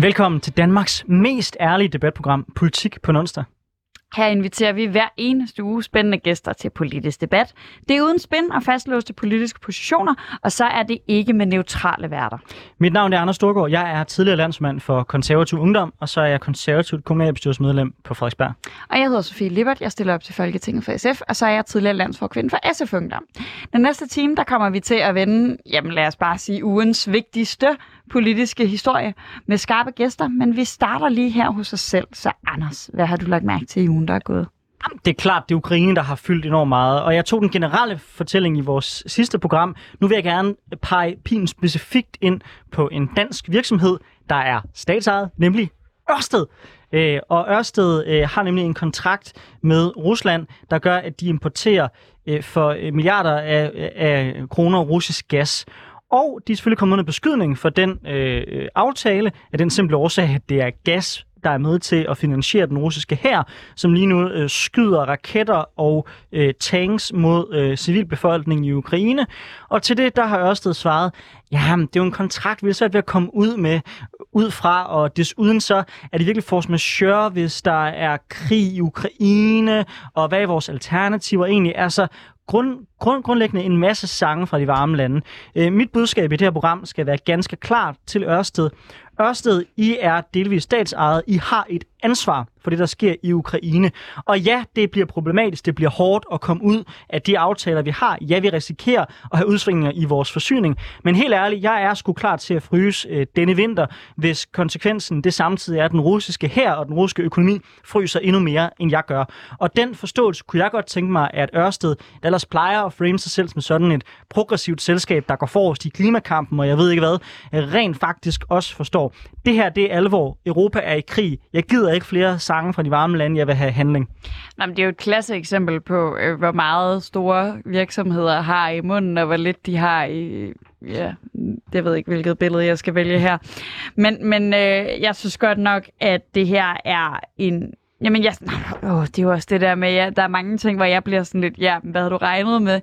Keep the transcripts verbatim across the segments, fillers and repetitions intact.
Velkommen til Danmarks mest ærlige debatprogram, Politik på en onsdag. Her inviterer vi hver eneste uge spændende gæster til politisk debat. Det er uden spin og fastlåste politiske positioner, og så er det ikke med neutrale værter. Mit navn er Anders Storgård. Jeg er tidligere landsmand for Konservativ Ungdom, og så er jeg konservativt kommunalbestyrelsesmedlem på Frederiksberg. Og jeg hedder Sofie Lippert. Jeg stiller op til Folketinget for S F, og så er jeg tidligere landsforkvinde for S F Ungdom. Den næste time, der kommer vi til at vende, jamen lad os bare sige, ugens vigtigste politiske historie med skarpe gæster, men vi starter lige her hos os selv. Så Anders, hvad har du lagt mærke til i ugen, der er gået? Det er klart, det er Ukraine, der har fyldt enormt meget, og jeg tog den generelle fortælling i vores sidste program. Nu vil jeg gerne pege pilen specifikt ind på en dansk virksomhed, der er statsejet, nemlig Ørsted. Øh, og Ørsted øh, har nemlig en kontrakt med Rusland, der gør, at de importerer øh, for milliarder af, af kroner russisk gas. Og de er selvfølgelig kommet under beskydning for den øh, aftale af den simple årsag, at det er gas, der er med til at finansiere den russiske hær, som lige nu øh, skyder raketter og øh, tanks mod øh, civilbefolkningen i Ukraine. Og til det, der har Ørsted svaret, jamen, det er jo en kontrakt, vi er svært ved at komme ud med, ud fra, og desuden så er det virkelig force majeure, hvis der er krig i Ukraine, og hvad er vores alternativer egentlig? Altså, Grund, grund, grundlæggende en masse sange fra de varme lande. Øh, mit budskab i det her program skal være ganske klart til Ørsted. Ørsted, I er delvis statsejet. I har et ansvar for det, der sker i Ukraine. Og ja, det bliver problematisk. Det bliver hårdt at komme ud af de aftaler, vi har. Ja, vi risikerer at have udsvingninger i vores forsyning. Men helt ærligt, jeg er sgu klar til at fryse øh, denne vinter, hvis konsekvensen det samtidig er, at den russiske hær og den russiske økonomi fryser endnu mere, end jeg gør. Og den forståelse kunne jeg godt tænke mig, at Ørsted, der ellers plejer at frame sig selv som sådan et progressivt selskab, der går forrest i klimakampen, og jeg ved ikke hvad, rent faktisk også forstår. Det her, det er alvor. Europa er i krig. Jeg gider ikke flere sange fra de varme lande. Jeg vil have handling. Nå, men det er jo et klasse eksempel på, øh, hvor meget store virksomheder har i munden, og hvor lidt de har i... Ja, jeg ved ikke, hvilket billede jeg skal vælge her. Men, men øh, jeg synes godt nok, at det her er en... Jamen, jeg, åh, det er jo også det der med, ja, der er mange ting, hvor jeg bliver sådan lidt, ja, hvad har du regnet med?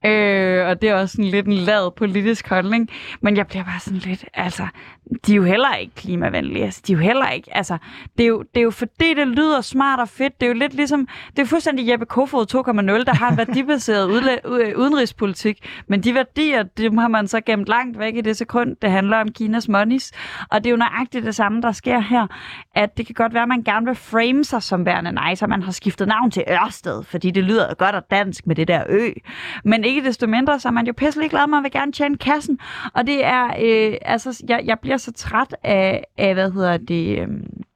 Øh, og det er også sådan lidt en lad politisk holdning. Men jeg bliver bare sådan lidt, altså, de er jo heller ikke klimavenlige. Altså, de er jo heller ikke, altså, det er jo, det er jo fordi, det lyder smart og fedt. Det er jo lidt ligesom, det er jo fuldstændig Jeppe Kofod to punkt nul, der har en værdibaseret udla- udenrigspolitik. Men de værdier, dem har man så gemt langt væk i det sekund, det handler om Kinas monies. Og det er jo nøjagtigt det samme, der sker her. At det kan godt være, at man gerne vil frame sig som værende nice, og man har skiftet navn til Ørsted, fordi det lyder godt og dansk med det der ø. Men ikke desto mindre, så er man jo pisselig glad, man vil gerne tjene kassen. Og det er, øh, altså, jeg, jeg bliver så træt af, af hvad hedder det, øh,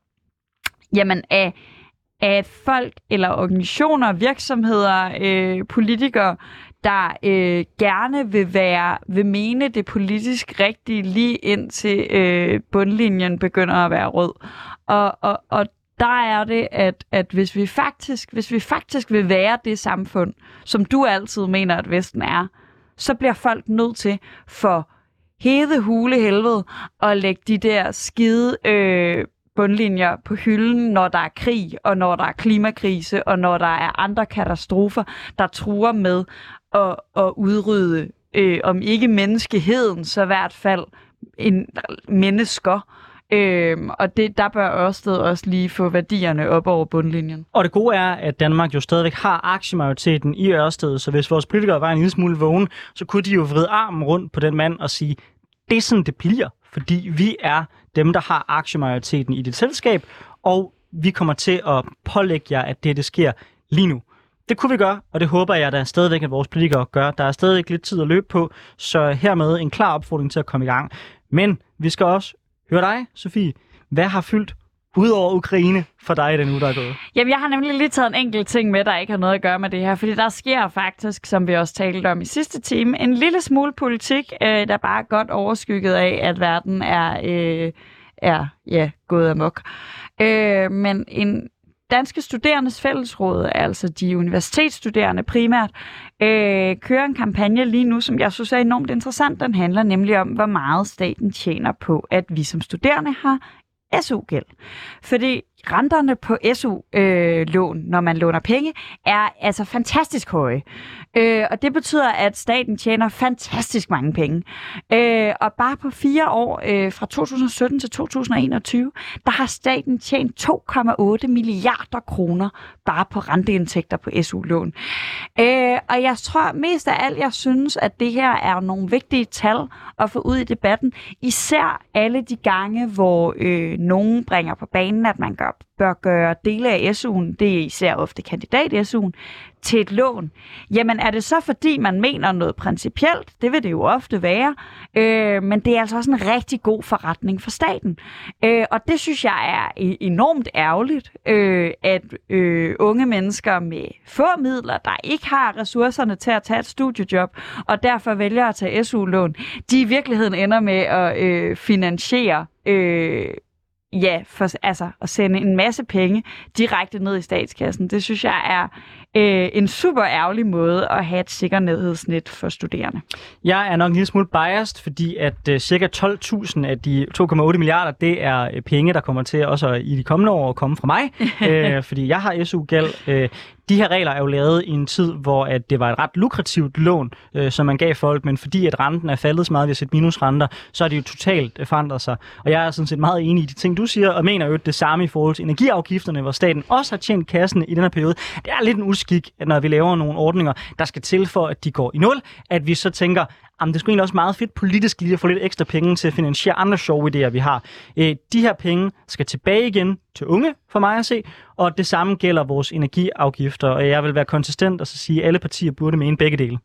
jamen af, af folk eller organisationer, virksomheder, øh, politikere, der øh, gerne vil være, vil mene det politisk rigtige, lige indtil øh, bundlinjen begynder at være rød. Og, og, og der er det, at, at hvis, vi faktisk, hvis vi faktisk vil være det samfund, som du altid mener, at Vesten er, så bliver folk nødt til for hede hule helvede at lægge de der skide øh, bundlinjer på hylden, når der er krig, og når der er klimakrise, og når der er andre katastrofer, der truer med at, at udrydde, øh, om ikke menneskeheden, så i hvert fald en mennesker. Øhm, og det, der bør Ørsted også lige få værdierne op over bundlinjen. Og det gode er, at Danmark jo stadigvæk har aktiemajoriteten i Ørsted, så hvis vores politikere var en lille smule vågen, så kunne de jo vride armen rundt på den mand og sige, det er sådan, det bliver, fordi vi er dem, der har aktiemajoriteten i dit selskab, og vi kommer til at pålægge jer, at det, det sker lige nu. Det kunne vi gøre, og det håber jeg da stadigvæk, at vores politikere gør. Der er stadig lidt tid at løbe på, så hermed en klar opfordring til at komme i gang. Men vi skal også høre dig, Sofie. Hvad har fyldt ud over Ukraine for dig i den uge, der er gået? Jamen, jeg har nemlig lige taget en enkelt ting med, der ikke har noget at gøre med det her. Fordi der sker faktisk, som vi også talte om i sidste time, en lille smule politik, øh, der bare er godt overskygget af, at verden er, øh, er ja, gået amok. Øh, men en Danske Studerendes Fællesråd, altså de universitetsstuderende primært, øh, kører en kampagne lige nu, som jeg synes er enormt interessant. Den handler nemlig om, hvor meget staten tjener på, at vi som studerende har S U-gæld. Fordi renterne på S U-lån, øh, når man låner penge, er altså fantastisk høje. Øh, og det betyder, at staten tjener fantastisk mange penge. Øh, og bare på fire år, øh, fra to tusind og sytten til to tusind og enogtyve, der har staten tjent to komma otte milliarder kroner bare på renteindtægter på S U-lån. Øh, og jeg tror mest af alt, jeg synes, at det her er nogle vigtige tal at få ud i debatten. Især alle de gange, hvor øh, nogen bringer på banen, at man gør, bør gøre dele af S U'en, det er især ofte kandidat-S U'en, til et lån. Jamen er det så, fordi man mener noget principielt? Det vil det jo ofte være. Øh, men det er altså også en rigtig god forretning for staten. Øh, og det synes jeg er enormt ærgerligt, øh, at øh, unge mennesker med få midler, der ikke har ressourcerne til at tage et studiejob, og derfor vælger at tage S U-lån, de i virkeligheden ender med at øh, finansiere øh, Ja, for, altså at sende en masse penge direkte ned i statskassen, det synes jeg er øh, en super ærgerlig måde at have et sikkerhedsnet for studerende. Jeg er nok en lille smule biased, fordi at øh, cirka tolv tusind af de to komma otte milliarder, det er øh, penge, der kommer til også i de kommende år at komme fra mig, øh, fordi jeg har S U-gæld. Øh, De her regler er jo lavet i en tid, hvor at det var et ret lukrativt lån, øh, som man gav folk, men fordi at renten er faldet så meget, vi har set minusrenter, så er det jo totalt øh, forandret sig. Og jeg er sådan set meget enig i de ting, du siger, og mener jo det samme i forhold til energiafgifterne, hvor staten også har tjent kassen i den her periode. Det er lidt en uskik, at når vi laver nogle ordninger, der skal til for, at de går i nul, at vi så tænker, jamen det skulle egentlig også meget fedt politisk lige at få lidt ekstra penge til at finansiere andre sjove idéer, vi har. Øh, de her penge skal tilbage igen til unge, for mig at se, og det samme gælder vores energiafgifter, og jeg vil være konsistent og så sige, at alle partier burde mene begge dele.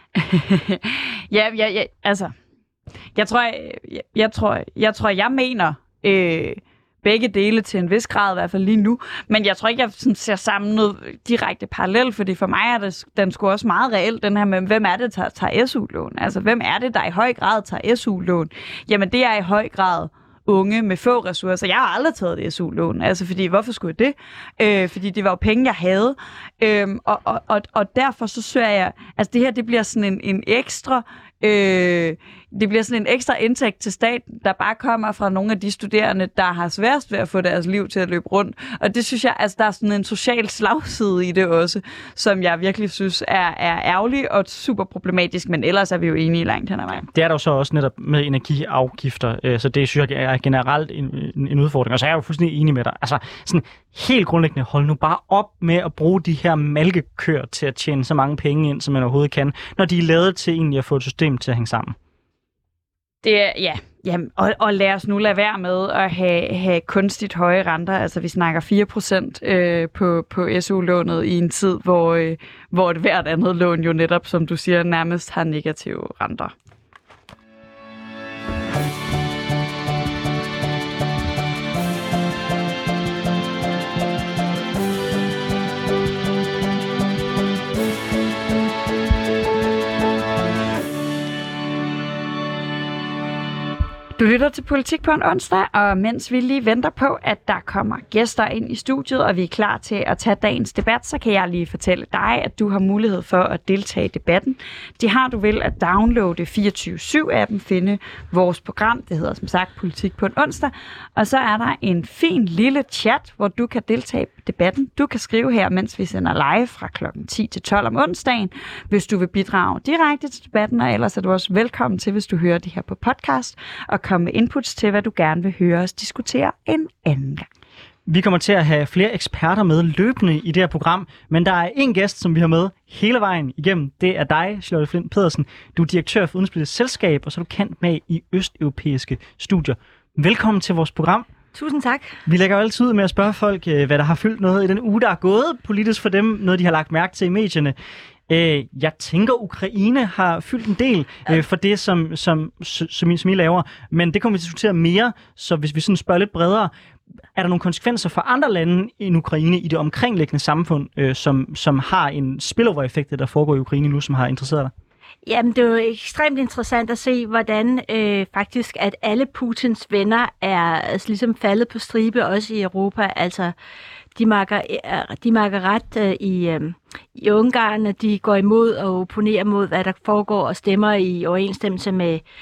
ja, ja, ja, altså, jeg tror, jeg, jeg tror, jeg tror, jeg mener øh, begge dele til en vis grad, i hvert fald lige nu, men jeg tror ikke, jeg sådan, ser sammen noget direkte parallelt, fordi for mig er det, den sgu også meget reelt, den her med, hvem er det, der tager S U-lån? Altså, hvem er det, der i høj grad tager S U-lån? Jamen, det er i høj grad unge med få ressourcer. Jeg har aldrig taget et S U-lån, altså fordi, hvorfor skulle jeg det? Øh, fordi det var jo penge, jeg havde. Øh, og, og, og, og derfor så søger jeg, altså det her, det bliver sådan en, en ekstra, øh, det bliver sådan en ekstra indtægt til staten, der bare kommer fra nogle af de studerende, der har sværest ved at få deres liv til at løbe rundt. Og det synes jeg, altså der er sådan en social slagside i det også, som jeg virkelig synes er, er ærgerlig og super problematisk, men ellers er vi jo enige langt hen ad vejen. Det er der jo så også netop med energiafgifter, så det synes jeg er generelt en, en udfordring. Og så er jeg jo fuldstændig enig med dig. Altså sådan helt grundlæggende, hold nu bare op med at bruge de her malkekøer til at tjene så mange penge ind, som man overhovedet kan, når de er lavet til egentlig at få et system til at hænge sammen. Det er, ja, jamen, og, og lad os nu lade være med at have, have kunstigt høje renter. Altså vi snakker fire procent øh, på, på S U-lånet i en tid, hvor, øh, hvor et hvert andet lån jo netop, som du siger, nærmest har negative renter. Du lytter til Politik på en onsdag, og mens vi lige venter på, at der kommer gæster ind i studiet, og vi er klar til at tage dagens debat, så kan jeg lige fortælle dig, at du har mulighed for at deltage i debatten. Det har du vel at downloade fireogtyve syv-appen, finde vores program, det hedder som sagt Politik på en onsdag, og så er der en fin lille chat, hvor du kan deltage i debatten. Du kan skrive her, mens vi sender live fra klokken ti til tolv om onsdagen, hvis du vil bidrage direkte til debatten, og ellers er du også velkommen til, hvis du hører det her på podcast, og komme med inputs til, hvad du gerne vil høre os diskutere en anden gang. Vi kommer til at have flere eksperter med løbende i det her program, men der er en gæst, som vi har med hele vejen igennem. Det er dig, Charlotte Flint Pedersen. Du er direktør for Udenrigspolitisk Selskab, og så er du kendt med i østeuropæiske studier. Velkommen til vores program. Tusind tak. Vi lægger jo altid ud med at spørge folk, hvad der har fyldt noget i den uge, der er gået politisk for dem, noget de har lagt mærke til i medierne. Jeg tænker, Ukraine har fyldt en del øh, for det, som, som, som, I, som I laver, men det kommer vi til at diskutere mere, så hvis vi sådan spørger lidt bredere, er der nogle konsekvenser for andre lande end Ukraine i det omkringliggende samfund, øh, som, som har en spillover-effekt, der foregår i Ukraine nu, som har interesseret dig? Jamen, det er jo ekstremt interessant at se, hvordan øh, faktisk, at alle Putins venner er altså, ligesom faldet på stribe, også i Europa. Altså, de makker, de makker ret øh, i, øh, i Ungarn, at de går imod og opponerer mod, hvad der foregår, og stemmer i overensstemmelse med,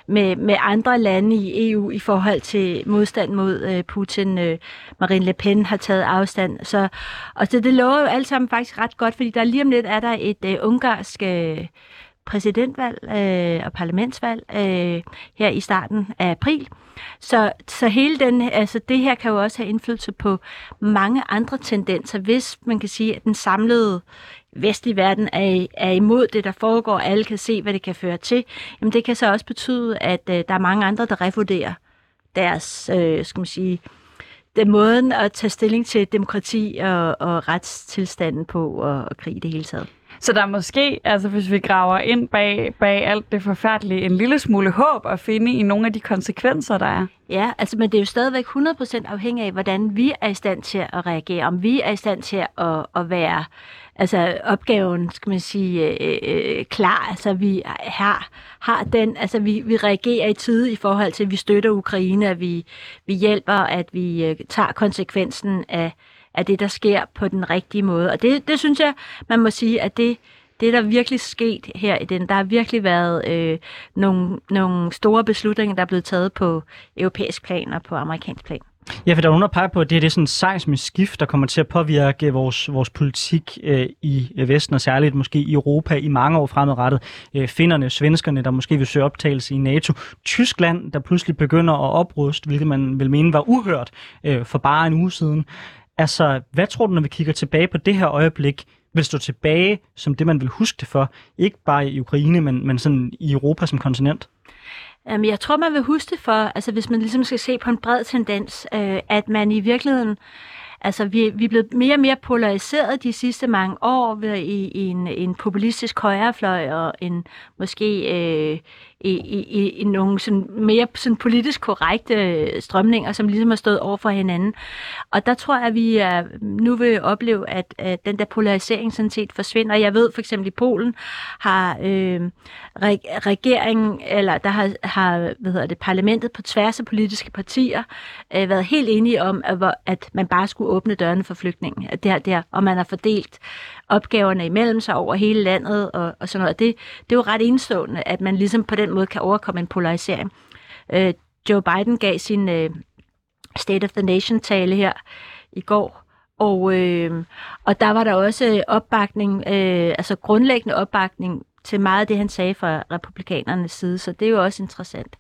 med, med andre lande i E U i forhold til modstand mod øh, Putin. Øh, Marine Le Pen har taget afstand. Så, og så det lover jo alt sammen faktisk ret godt, fordi der lige om lidt er der et øh, ungarsk øh, præsidentvalg øh, og parlamentsvalg øh, her i starten af april. Så, så hele den, altså det her kan jo også have indflydelse på mange andre tendenser, hvis man kan sige, at den samlede vestlige verden er, er imod det, der foregår, og alle kan se, hvad det kan føre til. Jamen det kan så også betyde, at øh, der er mange andre, der revurderer deres, øh, skal man sige, den måden at tage stilling til demokrati og, og retstilstanden på og, og krig i det hele taget. Så der er måske, altså hvis vi graver ind bag, bag alt det forfærdelige, en lille smule håb at finde i nogle af de konsekvenser, der er. Ja, altså, men det er jo stadigvæk hundrede procent afhængig af, hvordan vi er i stand til at reagere. Om vi er i stand til at, at være, altså opgaven, skal man sige, øh, klar. Altså vi har, har den, altså vi, vi reagerer i tide i forhold til, at vi støtter Ukraine, at vi, vi hjælper, at vi øh, tager konsekvensen af af det, der sker på den rigtige måde. Og det, det synes jeg, man må sige, at det, det der virkelig sket her i den, der har virkelig været øh, nogle, nogle store beslutninger, der er blevet taget på europæisk plan og på amerikansk plan. Ja, for der er nogen, der peger på, at det er, det er sådan et seismisk skift, der kommer til at påvirke vores, vores politik øh, i Vesten, og særligt måske i Europa i mange år fremadrettet. Øh, finnerne, svenskerne, der måske vil søge optagelse i NATO. Tyskland, der pludselig begynder at opruste, hvilket man vil mene var uhørt øh, for bare en uge siden. Altså, hvad tror du, når vi kigger tilbage på det her øjeblik, vil stå tilbage som det, man vil huske det for? Ikke bare i Ukraine, men, men sådan i Europa som kontinent? Um, jeg tror, man vil huske det for, altså hvis man ligesom skal se på en bred tendens, øh, at man i virkeligheden, altså vi, vi er blevet mere og mere polariseret de sidste mange år ved, i, i en, en populistisk højrefløj og en måske øh, i, i, i nogle sådan mere sådan politisk korrekte strømninger, som ligesom har stået over for hinanden. Og der tror jeg, at vi er, nu vil opleve, at, at den der polarisering sådan set forsvinder. Jeg ved for eksempel i Polen har øh, regeringen, eller der har, har hvad hedder det, parlamentet på tværs af politiske partier øh, været helt enige om, at, at man bare skulle åbne dørene for flygtninge. Det her, det her, og man har fordelt opgaverne imellem sig over hele landet og, og sådan noget. Det, det er jo ret enestående, at man ligesom på den måde kan overkomme en polarisering. Øh, Joe Biden gav sin øh, State of the Nation-tale her i går, og, øh, og der var der også opbakning, øh, altså grundlæggende opbakning til meget af det, han sagde fra republikanernes side, så det er jo også interessant.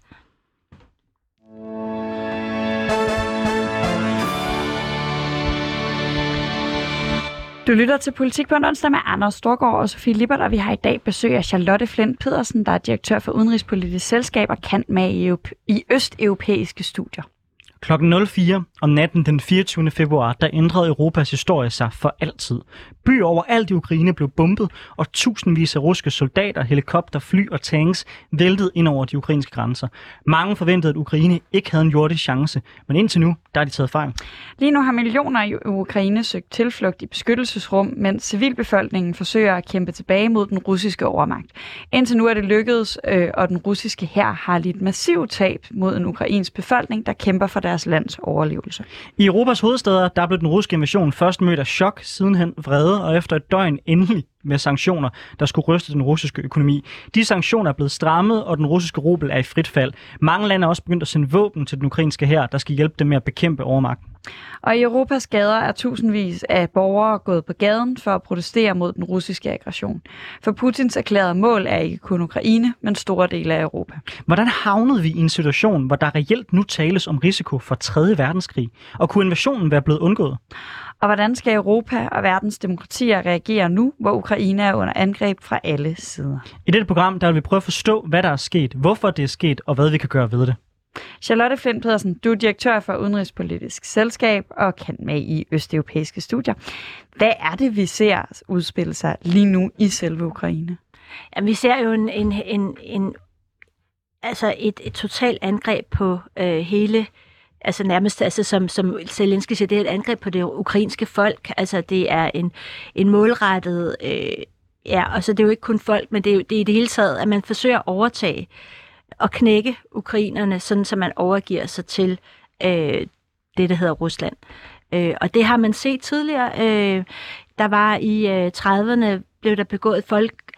Du lytter til Politik på en onsdag med Anders Storgård og Sofie Lippert, og vi har i dag besøg af Charlotte Flint Pedersen, der er direktør for Udenrigspolitisk Selskab og kendt med i, i østeuropæiske studier. Klokken nul fire om natten den fireogtyvende februar, der ændrede Europas historie sig for altid. Byer overalt i Ukraine blev bombet, og tusindvis af russiske soldater, helikopter, fly og tanks væltede ind over de ukrainske grænser. Mange forventede, at Ukraine ikke havde en jordisk chance, men indtil nu, der er de taget fejl. Lige nu har millioner i Ukraine søgt tilflugt i beskyttelsesrum, mens civilbefolkningen forsøger at kæmpe tilbage mod den russiske overmagt. Indtil nu er det lykkedes, øh, og den russiske hær har lidt massivt tab mod en ukrainsk befolkning, der kæmper for deres lands overlevelse. I Europas hovedstæder, der blev den russiske invasion først mødt af chok, sidenhen vrede, og efter et døgn endelig med sanktioner, der skulle ryste den russiske økonomi. De sanktioner er blevet strammet, og den russiske rubel er i frit fald. Mange lande er også begyndt at sende våben til den ukrainske hær, der skal hjælpe dem med at bekæmpe overmagten. Og i Europas gader er tusindvis af borgere gået på gaden for at protestere mod den russiske aggression. For Putins erklærede mål er ikke kun Ukraine, men store dele af Europa. Hvordan havnede vi i en situation, hvor der reelt nu tales om risiko for tredje verdenskrig? Og kunne invasionen være blevet undgået? Og hvordan skal Europa og verdens demokratier reagere nu, hvor Ukraine er under angreb fra alle sider? I dette program der vil vi prøve at forstå, hvad der er sket, hvorfor det er sket, og hvad vi kan gøre ved det. Charlotte Flint Pedersen, du er direktør for Udenrigspolitisk Selskab og kan med i østeuropæiske studier. Hvad er det, vi ser udspille sig lige nu i selve Ukraine? Jamen, vi ser jo en, en, en, en, altså et, et totalt angreb på øh, hele, altså nærmest, altså som, som Zelensky siger, det er et angreb på det ukrainske folk. Altså det er en, en målrettet, øh, ja, og så det er jo ikke kun folk, men det er jo det er i det hele taget, at man forsøger at overtage og knække ukrainerne, sådan så man overgiver sig til øh, det, der hedder Rusland. Øh, og det har man set tidligere. Øh, der var i øh, trediverne blev der begået folk,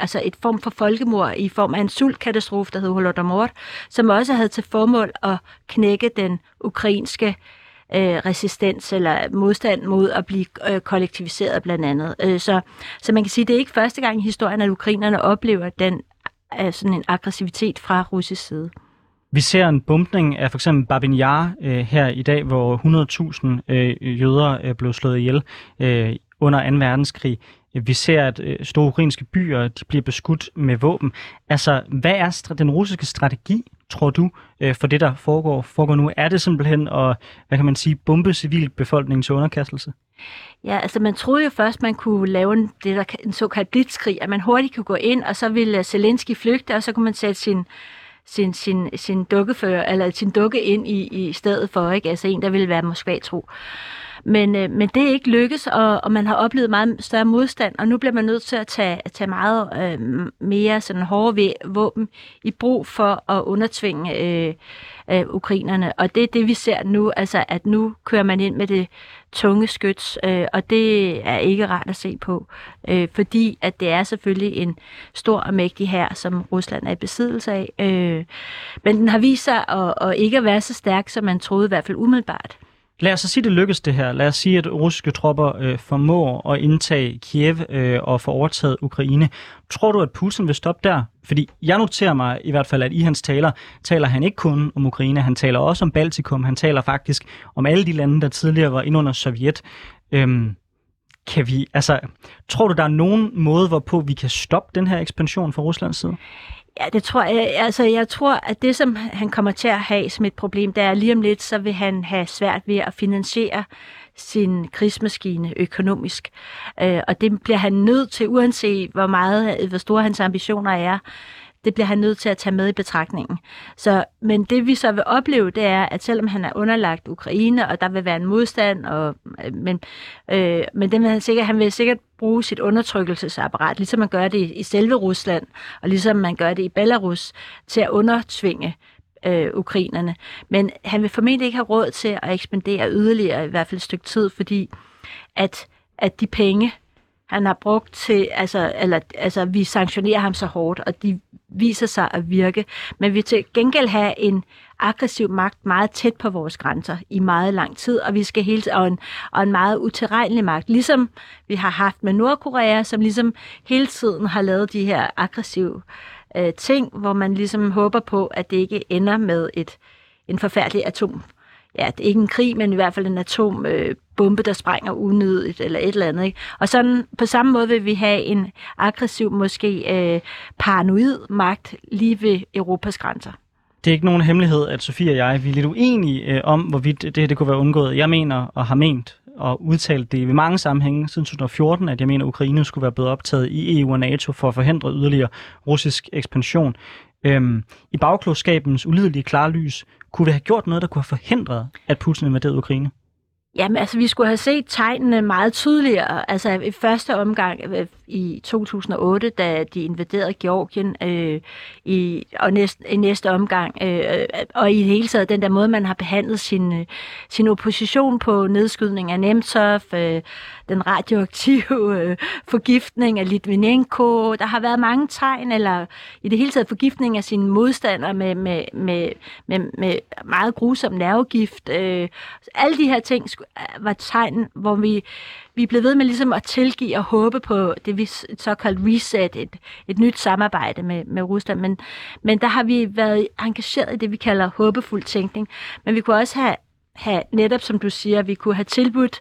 altså et form for folkemord i form af en sultkatastrofe, der hed Holodomor, som også havde til formål at knække den ukrainske øh, resistens eller modstand mod at blive øh, kollektiviseret blandt andet. Øh, så, så man kan sige, at det er ikke første gang i historien, at ukrainerne oplever den øh, sådan en aggressivitet fra russisk side. Vi ser en bombning af for eksempel Babin Yar øh, her i dag, hvor hundrede tusind øh, jøder øh, blev slået ihjel øh, under anden verdenskrig. Vi ser, at øh, store ukrainske byer de bliver beskudt med våben. Altså, hvad er st- den russiske strategi, tror du, øh, for det, der foregår, foregår nu? Er det simpelthen at, hvad kan man sige, bombe civilbefolkningen til underkastelse? Ja, altså man troede jo først, man kunne lave en, det der, en såkaldt blitzkrig, at man hurtigt kunne gå ind, og så ville Zelensky flygte, og så kunne man sætte sin sin, sin, sin dukkefører, eller sin dukke ind i, i stedet for, ikke? Altså en, der ville være Moskva-tro. Men, øh, men det er ikke lykkes, og, og man har oplevet meget større modstand, og nu bliver man nødt til at tage, tage meget øh, mere sådan hårde våben i brug for at undertvinge øh, øh, ukrainerne. Og det er det, vi ser nu, altså at nu kører man ind med det tunge skyts, øh, og det er ikke rart at se på, øh, fordi at det er selvfølgelig en stor og mægtig hær, som Rusland er i besiddelse af. Øh, men den har vist sig at, at ikke at være så stærk, som man troede, i hvert fald umiddelbart. Lad os så sige, det lykkes det her. Lad os sige, at russiske tropper øh, formår at indtage Kiev øh, og få overtaget Ukraine. Tror du, at Putin vil stoppe der? Fordi jeg noterer mig i hvert fald, at i hans taler, taler han ikke kun om Ukraine, han taler også om Baltikum, han taler faktisk om alle de lande, der tidligere var inde under Sovjet. Øhm, kan vi, altså, tror du, der er nogen måde, hvorpå vi kan stoppe den her ekspansion fra Ruslands side? Ja, det tror jeg. Altså, jeg tror, at det, som han kommer til at have som et problem, det er lige om lidt, så vil han have svært ved at finansiere sin krigsmaskine økonomisk. Øh, og det bliver han nødt til, uanset hvor meget, hvor store hans ambitioner er, det bliver han nødt til at tage med i betragtningen. Så, men det vi så vil opleve, det er, at selvom han er underlagt Ukraine, og der vil være en modstand, og, men, øh, men den vil han, sikkert, han vil sikkert bruge sit undertrykkelsesapparat, ligesom man gør det i selve Rusland, og ligesom man gør det i Belarus, til at undertvinge øh, ukrainerne. Men han vil formentlig ikke have råd til at ekspandere yderligere, i hvert fald et stykke tid, fordi at, at de penge, han har brugt til, altså, eller, altså vi sanktionerer ham så hårdt, og de viser sig at virke. Men vi til gengæld have en aggressiv magt meget tæt på vores grænser i meget lang tid, og vi skal hele og en, og en meget utilregnelig magt, ligesom vi har haft med Nordkorea, som ligesom hele tiden har lavet de her aggressive øh, ting, hvor man ligesom håber på, at det ikke ender med et en forfærdelig atom. Ja, det er ikke en krig, men i hvert fald en atombombe, øh, der sprænger unødigt eller et eller andet. Ikke? Og sådan på samme måde vil vi have en aggressiv, måske øh, paranoid magt lige ved Europas grænser. Det er ikke nogen hemmelighed, at Sofie og jeg vi er lidt uenige øh, om, hvorvidt det, det kunne være undgået. Jeg mener og har ment og udtalt det ved mange sammenhænge siden to tusind og fjorten, at jeg mener, at Ukraine skulle være blevet optaget i E U og NATO for at forhindre yderligere russisk ekspansion. Øhm, I bagklogskabens ulidelige klarlys, kunne vi have gjort noget, der kunne have forhindret, at Putin invaderede Ukraine? Jamen, altså, vi skulle have set tegnene meget tydeligere. Altså, i første omgang øh, i to tusind og otte, da de invaderede Georgien, øh, i, og næste, i næste omgang, øh, og i det hele taget, den der måde, man har behandlet sin, øh, sin opposition på nedskydning af Nemtsov, øh, den radioaktive øh, forgiftning af Litvinenko. Der har været mange tegn, eller i det hele taget forgiftning af sine modstandere med, med, med, med, med meget grusom nervegift. Øh, alle de her ting var tegn, hvor vi, vi blev ved med ligesom at tilgive og håbe på det, vi såkaldt reset, et, et nyt samarbejde med, med Rusland. Men, men der har vi været engageret i det, vi kalder håbefuld tænkning. Men vi kunne også have, have netop, som du siger, vi kunne have tilbudt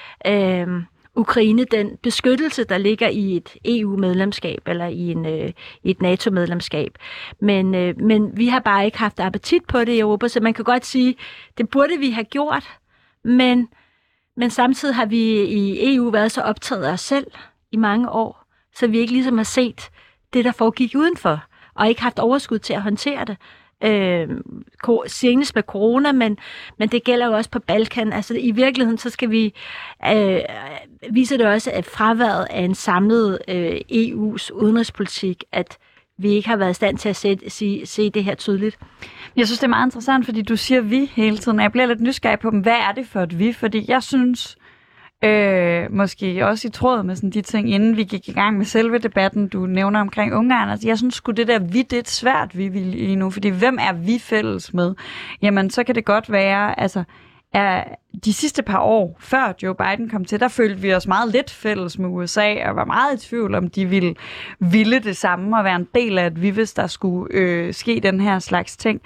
øh, Ukraine den beskyttelse, der ligger i et E U-medlemskab eller i, en, øh, i et NATO-medlemskab. Men, øh, men vi har bare ikke haft appetit på det i Europa, så man kan godt sige, det burde vi have gjort, men, men samtidig har vi i E U været så optaget af os selv i mange år, så vi ikke ligesom har set det, der foregik udenfor, og ikke haft overskud til at håndtere det. Øh, senest med corona, men, men det gælder jo også på Balkan. Altså i virkeligheden, så skal vi øh, vise det også, at fraværet af en samlet øh, E U's udenrigspolitik, at vi ikke har været i stand til at se, se, se det her tydeligt. Jeg synes, det er meget interessant, fordi du siger vi hele tiden, og jeg bliver lidt nysgerrig på dem. Hvad er det for et vi? Fordi jeg synes, Øh, måske også i tråd med sådan de ting, inden vi gik i gang med selve debatten, du nævner omkring Ungarn. Altså, jeg synes sgu, det der vi, det er svært, vi vil lige nu, fordi hvem er vi fælles med? Jamen, så kan det godt være, altså, er de sidste par år, før Joe Biden kom til, der følte vi os meget lidt fælles med U S A, og var meget i tvivl om, de ville, ville det samme, og være en del af, at vi, hvis der skulle øh, ske den her slags ting.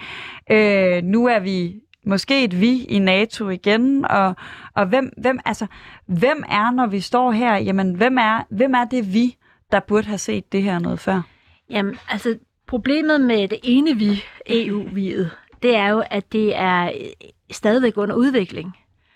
Øh, nu er vi måske et vi i NATO igen, og, og hvem, hvem, altså, hvem er, når vi står her, jamen, hvem er, hvem er det vi, der burde have set det her noget før? Jamen, altså, problemet med det ene vi, E U-viet, det er jo, at det er stadigvæk under udvikling.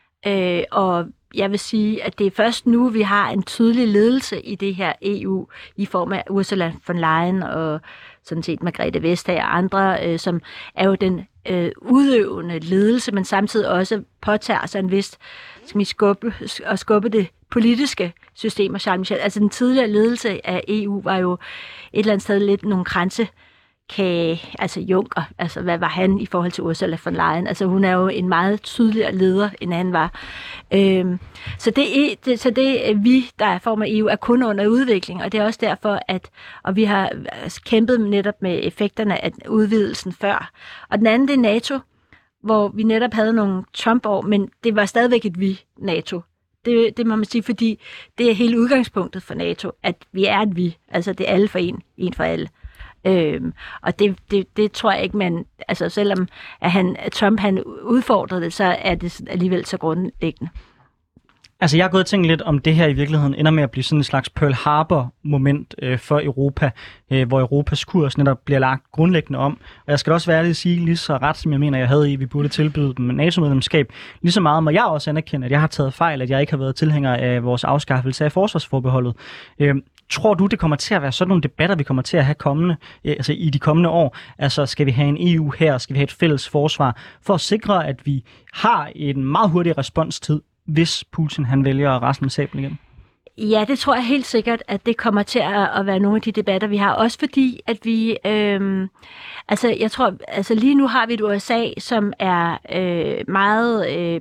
Øh, og jeg vil sige, at det er først nu, vi har en tydelig ledelse i det her E U, i form af Ursula von Leyen og sådan set Margrethe Vestager og andre, øh, som er jo den øh, udøvende ledelse, men samtidig også påtager sig en vist, skal vi skubbe, og skubbe det politiske system. Og Charles Michel, altså den tidligere ledelse af E U var jo et eller andet sted lidt nogle grænse, Kan, altså Juncker, altså hvad var han i forhold til Ursula von Leyen? Altså hun er jo en meget tydeligere leder, end han var. Øhm, så, det er, det, så det vi, der er form af E U, er kun under udvikling, og det er også derfor, at og vi har kæmpet netop med effekterne af udvidelsen før. Og den anden, det er NATO, hvor vi netop havde nogle Trump-år, men det var stadigvæk et vi, NATO. Det, det må man sige, fordi det er hele udgangspunktet for NATO, at vi er et vi, altså det er alle for en, en for alle. Øhm, og det, det, det tror jeg ikke, man, altså selvom at han, at Trump han udfordrede det, så er det alligevel så grundlæggende. Altså jeg har gået og tænkt lidt om det her i virkeligheden ender med at blive sådan en slags Pearl Harbor-moment øh, for Europa, øh, hvor Europas kurs netop bliver lagt grundlæggende om. Og jeg skal også være ærlig at sige, lige så ret som jeg mener, jeg havde i, vi burde tilbyde dem NATO-medlemskab, lige så meget må jeg også anerkende, at jeg har taget fejl, at jeg ikke har været tilhænger af vores afskaffelse af forsvarsforbeholdet. Øh, Tror du, det kommer til at være sådan nogle debatter, vi kommer til at have kommende, altså i de kommende år? Altså, skal vi have en E U her? Skal vi have et fælles forsvar? For at sikre, at vi har en meget hurtig responstid, hvis Putin han vælger at rasle med sablen igen? Ja, det tror jeg helt sikkert, at det kommer til at være nogle af de debatter, vi har. Også fordi, at vi... Øhm, altså, jeg tror... Altså, lige nu har vi et U S A, som er øh, meget øh,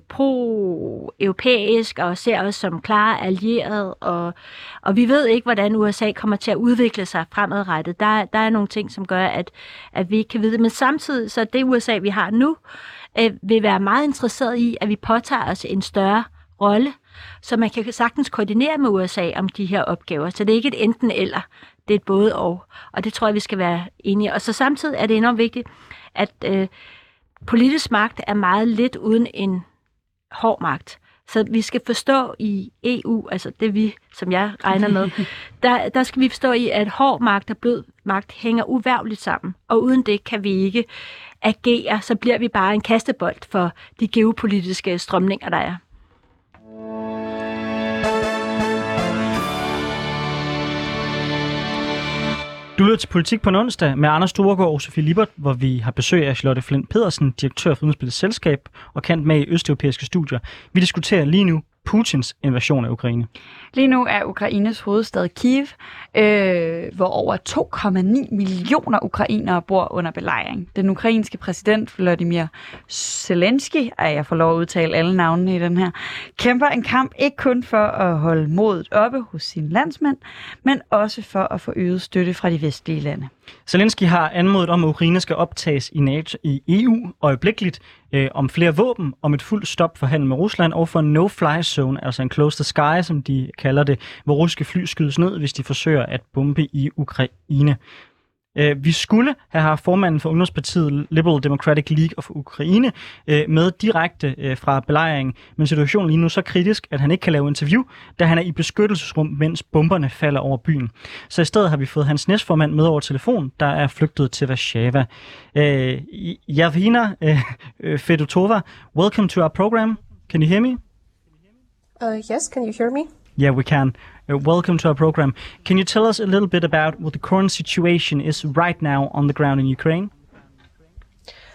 pro-europæisk og ser os som klare allierede. Og, og vi ved ikke, hvordan U S A kommer til at udvikle sig fremadrettet. Der, der er nogle ting, som gør, at, at vi ikke kan vide det. Men samtidig, så det U S A, vi har nu, øh, vil være meget interesseret i, at vi påtager os en større rolle, så man kan sagtens koordinere med U S A om de her opgaver. Så det er ikke et enten eller, det er et både og. Og det tror jeg, vi skal være enige. Og så samtidig er det enormt vigtigt, at øh, politisk magt er meget lidt uden en hård magt. Så vi skal forstå i E U, altså det vi, som jeg regner med, der, der skal vi forstå i, at hård magt og blød magt hænger uværligt sammen. Og uden det kan vi ikke agere, så bliver vi bare en kastebold for de geopolitiske strømninger, der er. Du lytter til Politik på en onsdag med Anders Storgård og Sofie Lippert, hvor vi har besøg af Charlotte Flint Pedersen, direktør for Udenrigspolitisk Selskab og kendt med i østeuropæiske studier. Vi diskuterer lige nu Putins invasion af Ukraine. Lige nu er Ukraines hovedstad Kyiv, øh, hvor over to komma ni millioner ukrainere bor under belejring. Den ukrainske præsident Volodymyr Zelensky, at jeg får lov at udtale alle navnene i den her, kæmper en kamp ikke kun for at holde modet oppe hos sine landsmænd, men også for at få øget støtte fra de vestlige lande. Zelensky har anmodet om, at Ukraine skal optages i NATO i E U øjeblikkeligt, øh, om flere våben, om et fuldt stop for handel med Rusland og for en no-fly zone, altså en close the sky, som de kalder det, hvor russiske fly skydes ned, hvis de forsøger at bombe i Ukraine. Øh, vi skulle have haft formanden for Ungdomspartiet Liberal Democratic League of Ukraine øh, med direkte øh, fra belejringen, men situationen lige nu er så kritisk, at han ikke kan lave interview, da han er i beskyttelsesrum, mens bomberne falder over byen. Så i stedet har vi fået hans næstformand med over telefon, der er flygtet til Warszawa. Øh, Yevgenia øh, Fedotova, welcome to our program. Can you hear me? Uh, yes, can you hear me? Yeah, we can. Uh, welcome to our program. Can you tell us a little bit about what the current situation is right now on the ground in Ukraine?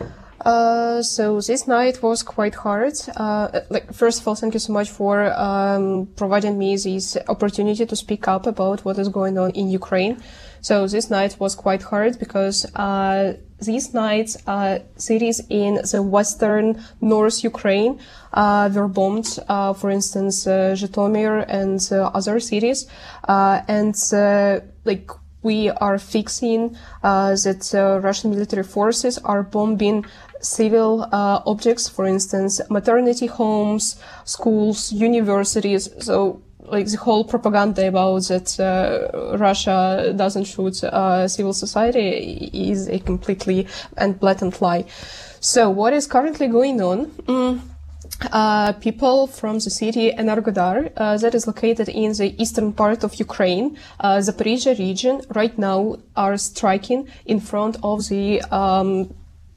Uh, so this night was quite hard. Uh, like, first of all, thank you so much for um, providing me this opportunity to speak up about what is going on in Ukraine. So this night was quite hard because uh, these nights, uh, cities in the western North Ukraine uh, were bombed. Uh, for instance, uh, Zhytomyr and uh, other cities, uh, and uh, like. We are fixing uh, that uh, Russian military forces are bombing civil uh, objects, for instance, maternity homes, schools, universities. So, like, the whole propaganda about that uh, Russia doesn't shoot uh, civil society is a completely and blatant lie. So, what is currently going on? Mm. Uh, people from the city Energodar, uh, that is located in the eastern part of Ukraine, uh, Zaporizhia region, right now are striking in front of the um,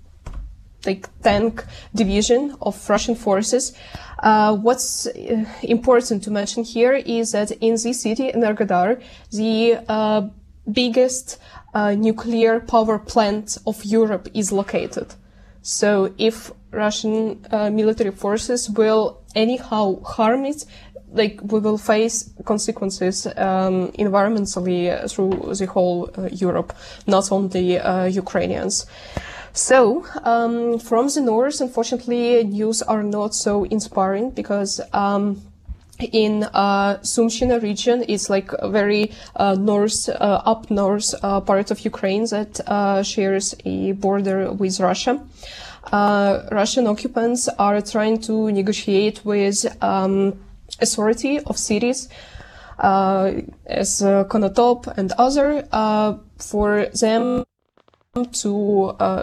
like tank division of Russian forces. Uh, what's uh, important to mention here is that in this city Energodar, the uh, biggest uh, nuclear power plant of Europe is located. So if Russian uh, military forces will anyhow harm it, like, we will face consequences um, environmentally through the whole uh, Europe, not only uh, Ukrainians. So um, from the north, unfortunately, news are not so inspiring because um, in uh, Sumshina region, it's like a very uh, north, uh, up north uh, part of Ukraine that uh, shares a border with Russia. Uh, Russian occupants are trying to negotiate with um, authority of cities uh, as uh, Konotop and other uh, for them to uh,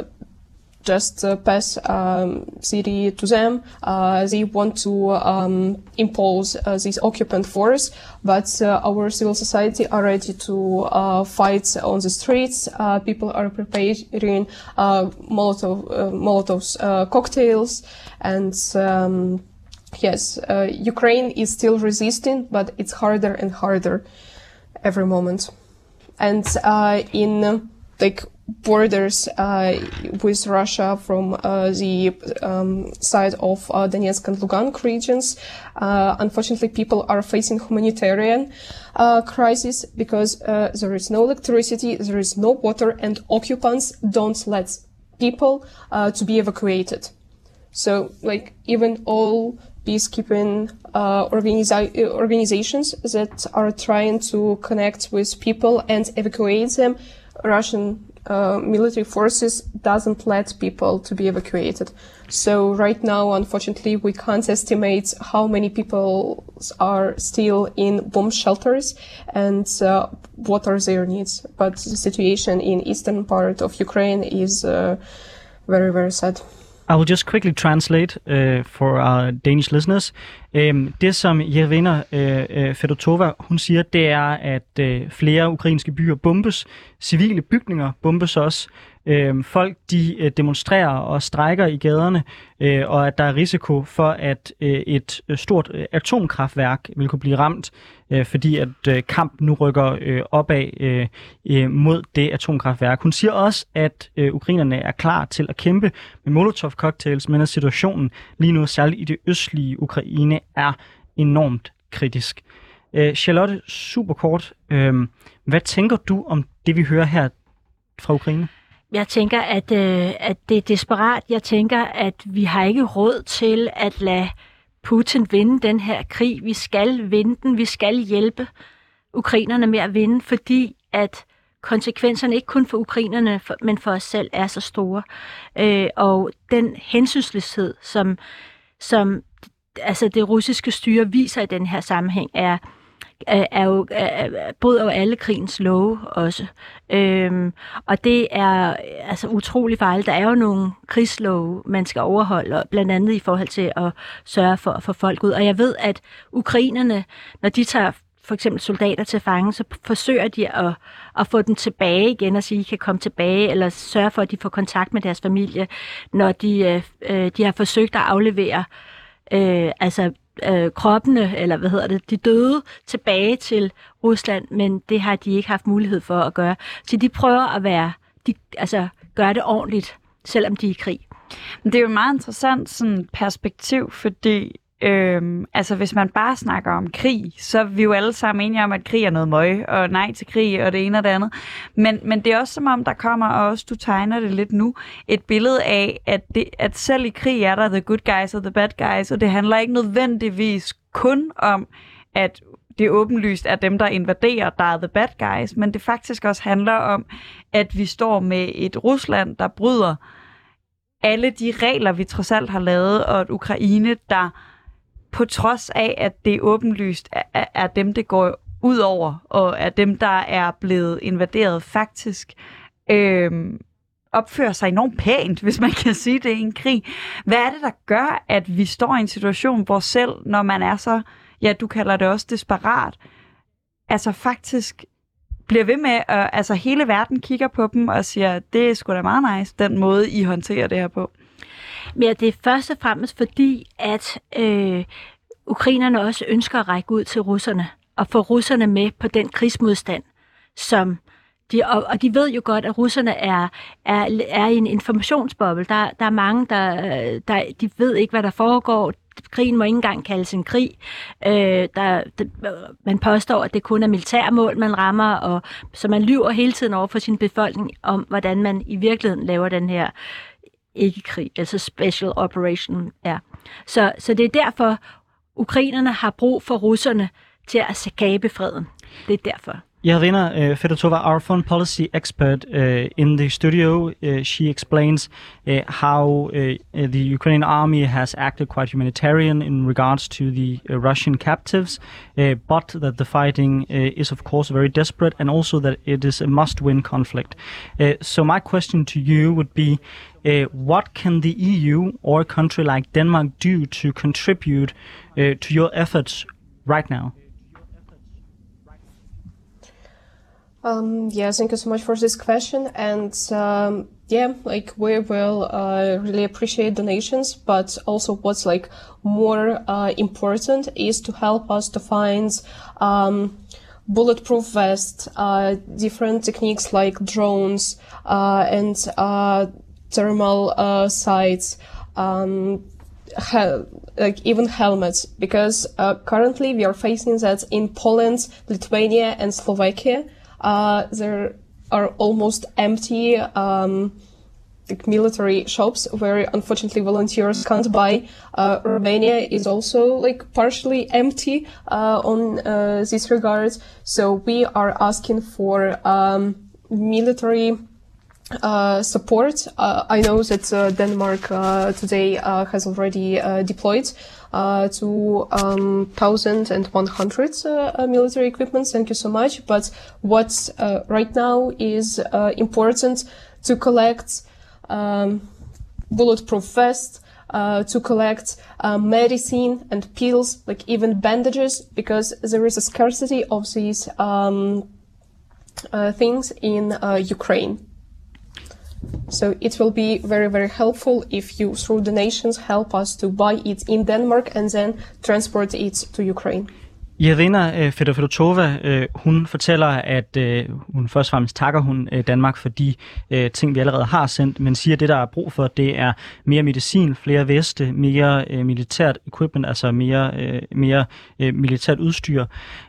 just uh, pass um, city to them. Uh, they want to um, impose uh, this occupant force, but uh, our civil society are ready to uh, fight on the streets. Uh, people are preparing uh, Molotov, uh, Molotov's uh, cocktails, and um, yes, uh, Ukraine is still resisting, but it's harder and harder every moment. And uh, in uh, like borders uh, with Russia from uh, the um, side of uh, Donetsk and Lugansk regions. Uh, unfortunately, people are facing humanitarian uh, crisis because uh, there is no electricity, there is no water, and occupants don't let people uh, to be evacuated. So, like, even all peacekeeping uh, organiza- organizations that are trying to connect with people and evacuate them, Russian Uh, military forces doesn't let people to be evacuated. So right now, unfortunately, we can't estimate how many people are still in bomb shelters and uh, what are their needs. But the situation in eastern part of Ukraine is uh, very, very sad. I will just quickly translate uh, for our Danish listeners. Um, det, som Yevgenia uh, Fedotova, hun siger, det er, at uh, flere ukrainske byer bombes. Civile bygninger bombes også. Uh, folk de uh, demonstrerer og strejker i gaderne, uh, og at der er risiko for, at uh, et uh, stort uh, atomkraftværk vil kunne blive ramt, uh, fordi at uh, kampen nu rykker uh, opad uh, uh, mod det atomkraftværk. Hun siger også, at uh, ukrainerne er klar til at kæmpe med Molotov-cocktails, men at situationen lige nu, særligt i det østlige Ukraine, er enormt kritisk. Uh, Charlotte, super kort, uh, hvad tænker du om det, vi hører her fra Ukraine? Jeg tænker, at, øh, at det er desperat. Jeg tænker, at vi har ikke råd til at lade Putin vinde den her krig. Vi skal vinde den. Vi skal hjælpe ukrainerne med at vinde, fordi at konsekvenserne ikke kun for ukrainerne, men for os selv er så store. Øh, og den hensynsløshed, som, som altså det russiske styre viser i den her sammenhæng, er er jo bryder jo alle krigens love også. Øhm, og det er altså utrolig farligt. Der er jo nogle krigslove, man skal overholde, blandt andet i forhold til at sørge for at få folk ud. Og jeg ved, at ukrainerne, når de tager for eksempel soldater til fange, så forsøger de at, at få dem tilbage igen og sige, at de kan komme tilbage, eller sørge for, at de får kontakt med deres familie, når de, øh, de har forsøgt at aflevere øh, altså Øh, kroppene, eller hvad hedder det, de døde tilbage til Rusland, men det har de ikke haft mulighed for at gøre. Så de prøver at være, de, altså gøre det ordentligt, selvom de er i krig. Det er jo et meget interessant sådan, perspektiv, fordi øhm, altså, hvis man bare snakker om krig, så er vi jo alle sammen enige om, at krig er noget møg, og nej til krig, og det ene og det andet. Men, men det er også som om, der kommer, og også du tegner det lidt nu, et billede af, at, det, at selv i krig er der the good guys og the bad guys, og det handler ikke nødvendigvis kun om, at det er åbenlyst, at dem, der invaderer, der er the bad guys, men det faktisk også handler om, at vi står med et Rusland, der bryder alle de regler, vi trods alt har lavet, og et Ukraine, der på trods af, at det er åbenlyst, er, er dem, det går ud over, og er dem, der er blevet invaderet, faktisk øh, opfører sig enormt pænt, hvis man kan sige det i en krig. Hvad er det, der gør, at vi står i en situation, hvor selv, når man er så, ja, du kalder det også desperat, altså faktisk bliver ved med, at altså hele verden kigger på dem og siger, det er sgu da meget nice, den måde, I håndterer det her på? Men det er først og fremmest fordi, at øh, ukrainerne også ønsker at række ud til russerne og få russerne med på den krigsmodstand, som de, og, og de ved jo godt, at russerne er, er, er i en informationsboble. Der, der er mange, der, der de ved ikke, hvad der foregår. Krigen må ikke engang kaldes en krig. Øh, der, der, man påstår, at det kun er militærmål, man rammer, og så man lyver hele tiden over for sin befolkning om, hvordan man i virkeligheden laver den her ikke-krig, altså special operation er. Så, så det er derfor, ukrainerne har brug for russerne til at skabe freden. Det er derfor. Yelena uh, Fedotova, our foreign policy expert uh, in the studio, uh, she explains uh, how uh, the Ukrainian army has acted quite humanitarian in regards to the uh, Russian captives, uh, but that the fighting uh, is of course very desperate, and also that it is a must-win conflict. Uh, so my question to you would be, uh, what can the E U or a country like Denmark do to contribute uh, to your efforts right now? Um, yeah, thank you so much for this question. And um, yeah, like we will uh, really appreciate donations, but also what's like more uh, important is to help us to find um, bulletproof vests, uh, different techniques like drones uh, and uh, thermal uh, sights, um, he- like even helmets, because uh, currently we are facing that in Poland, Lithuania, and Slovakia. Uh, there are almost empty um, like military shops where unfortunately volunteers can't buy. Uh, Romania is also like partially empty uh, on uh, this regard. So we are asking for um, military uh, support. Uh, I know that uh, Denmark uh, today uh, has already uh, deployed Uh, to um, one thousand one hundred uh, military equipment. Thank you so much. But what's uh, right now is uh, important to collect um, bulletproof vests, uh, to collect uh, medicine and pills, like even bandages, because there is a scarcity of these um, uh, things in uh, Ukraine. So it will be very, very helpful if you, through donations, help us to buy it in Denmark and then transport it to Ukraine. Yelena Fedotova, hun fortæller, at hun først og fremmest takker hun Danmark for de ting, vi allerede har sendt, men siger, at det, der er brug for, det er mere medicin, flere veste, mere militært equipment, altså mere, mere militært udstyr.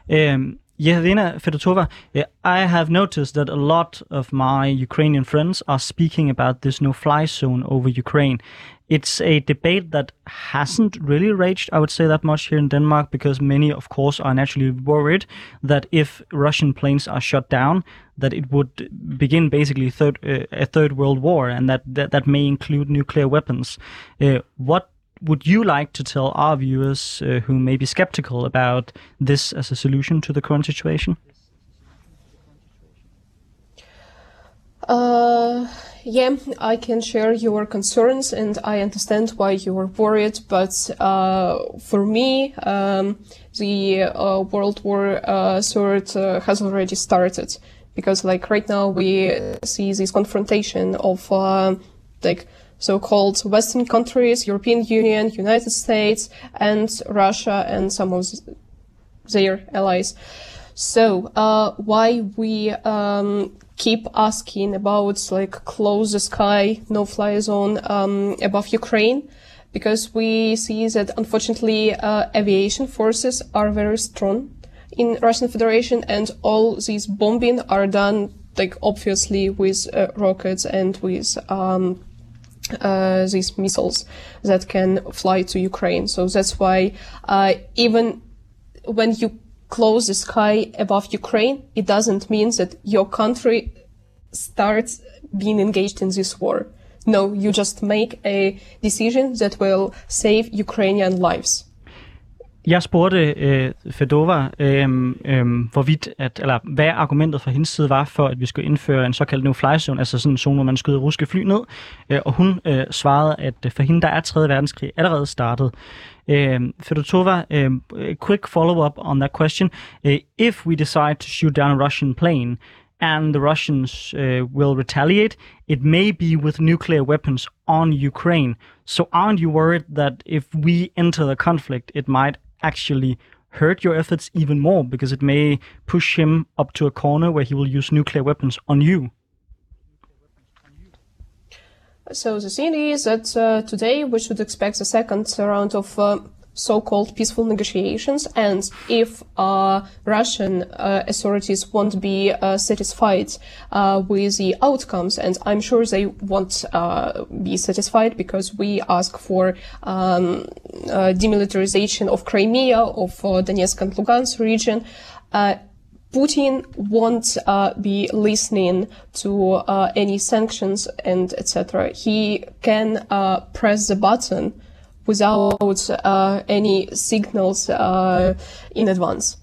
Yelena Fedotova, I have noticed that a lot of my Ukrainian friends are speaking about this no-fly zone over Ukraine. It's a debate that hasn't really raged, I would say, that much here in Denmark, because many, of course, are naturally worried that if Russian planes are shut down, that it would begin basically third, uh, a third world war, and that, that, that may include nuclear weapons. Uh, what would you like to tell our viewers uh, who may be skeptical about this as a solution to the current situation? Uh, yeah, I can share your concerns and I understand why you are worried, but uh, for me, um, the uh, World War uh, Third uh, has already started, because like right now we see this confrontation of uh, like so-called Western countries, European Union, United States, and Russia and some of their allies. So, uh, why we um, keep asking about like close the sky, no-fly zone um, above Ukraine, because we see that unfortunately uh, aviation forces are very strong in Russian Federation, and all these bombing are done like obviously with uh, rockets and with um, uh, these missiles that can fly to Ukraine. So that's why uh, even when you close the sky above Ukraine, it doesn't mean that your country starts being engaged in this war. No, you just make a decision that will save Ukrainian lives. Jeg spurgte øh, Fedova, øh, øh, hvorvidt at, eller hvad argumentet fra hendes side var for, at vi skulle indføre en såkaldt no-fly zone, altså sådan en zone, hvor man skyder russiske fly ned. Øh, og hun øh, svarede, at for hende der er tredje verdenskrig allerede startet. Øh, Fedotova, øh, quick follow-up on that question. Uh, if we decide to shoot down a Russian plane, and the Russians uh, will retaliate, it may be with nuclear weapons on Ukraine. So aren't you worried that if we enter the conflict, it might actually hurt your efforts even more, because it may push him up to a corner where he will use nuclear weapons on you? So the thing is that uh, today we should expect the second round of uh, so-called peaceful negotiations, and if uh, Russian uh, authorities won't be uh, satisfied uh, with the outcomes, and I'm sure they won't uh, be satisfied, because we ask for um, uh, demilitarization of Crimea, of uh, Donetsk and Lugansk region, uh, Putin won't uh, be listening to uh, any sanctions and et cetera. He can uh, press the button without uh, any signals uh, in advance.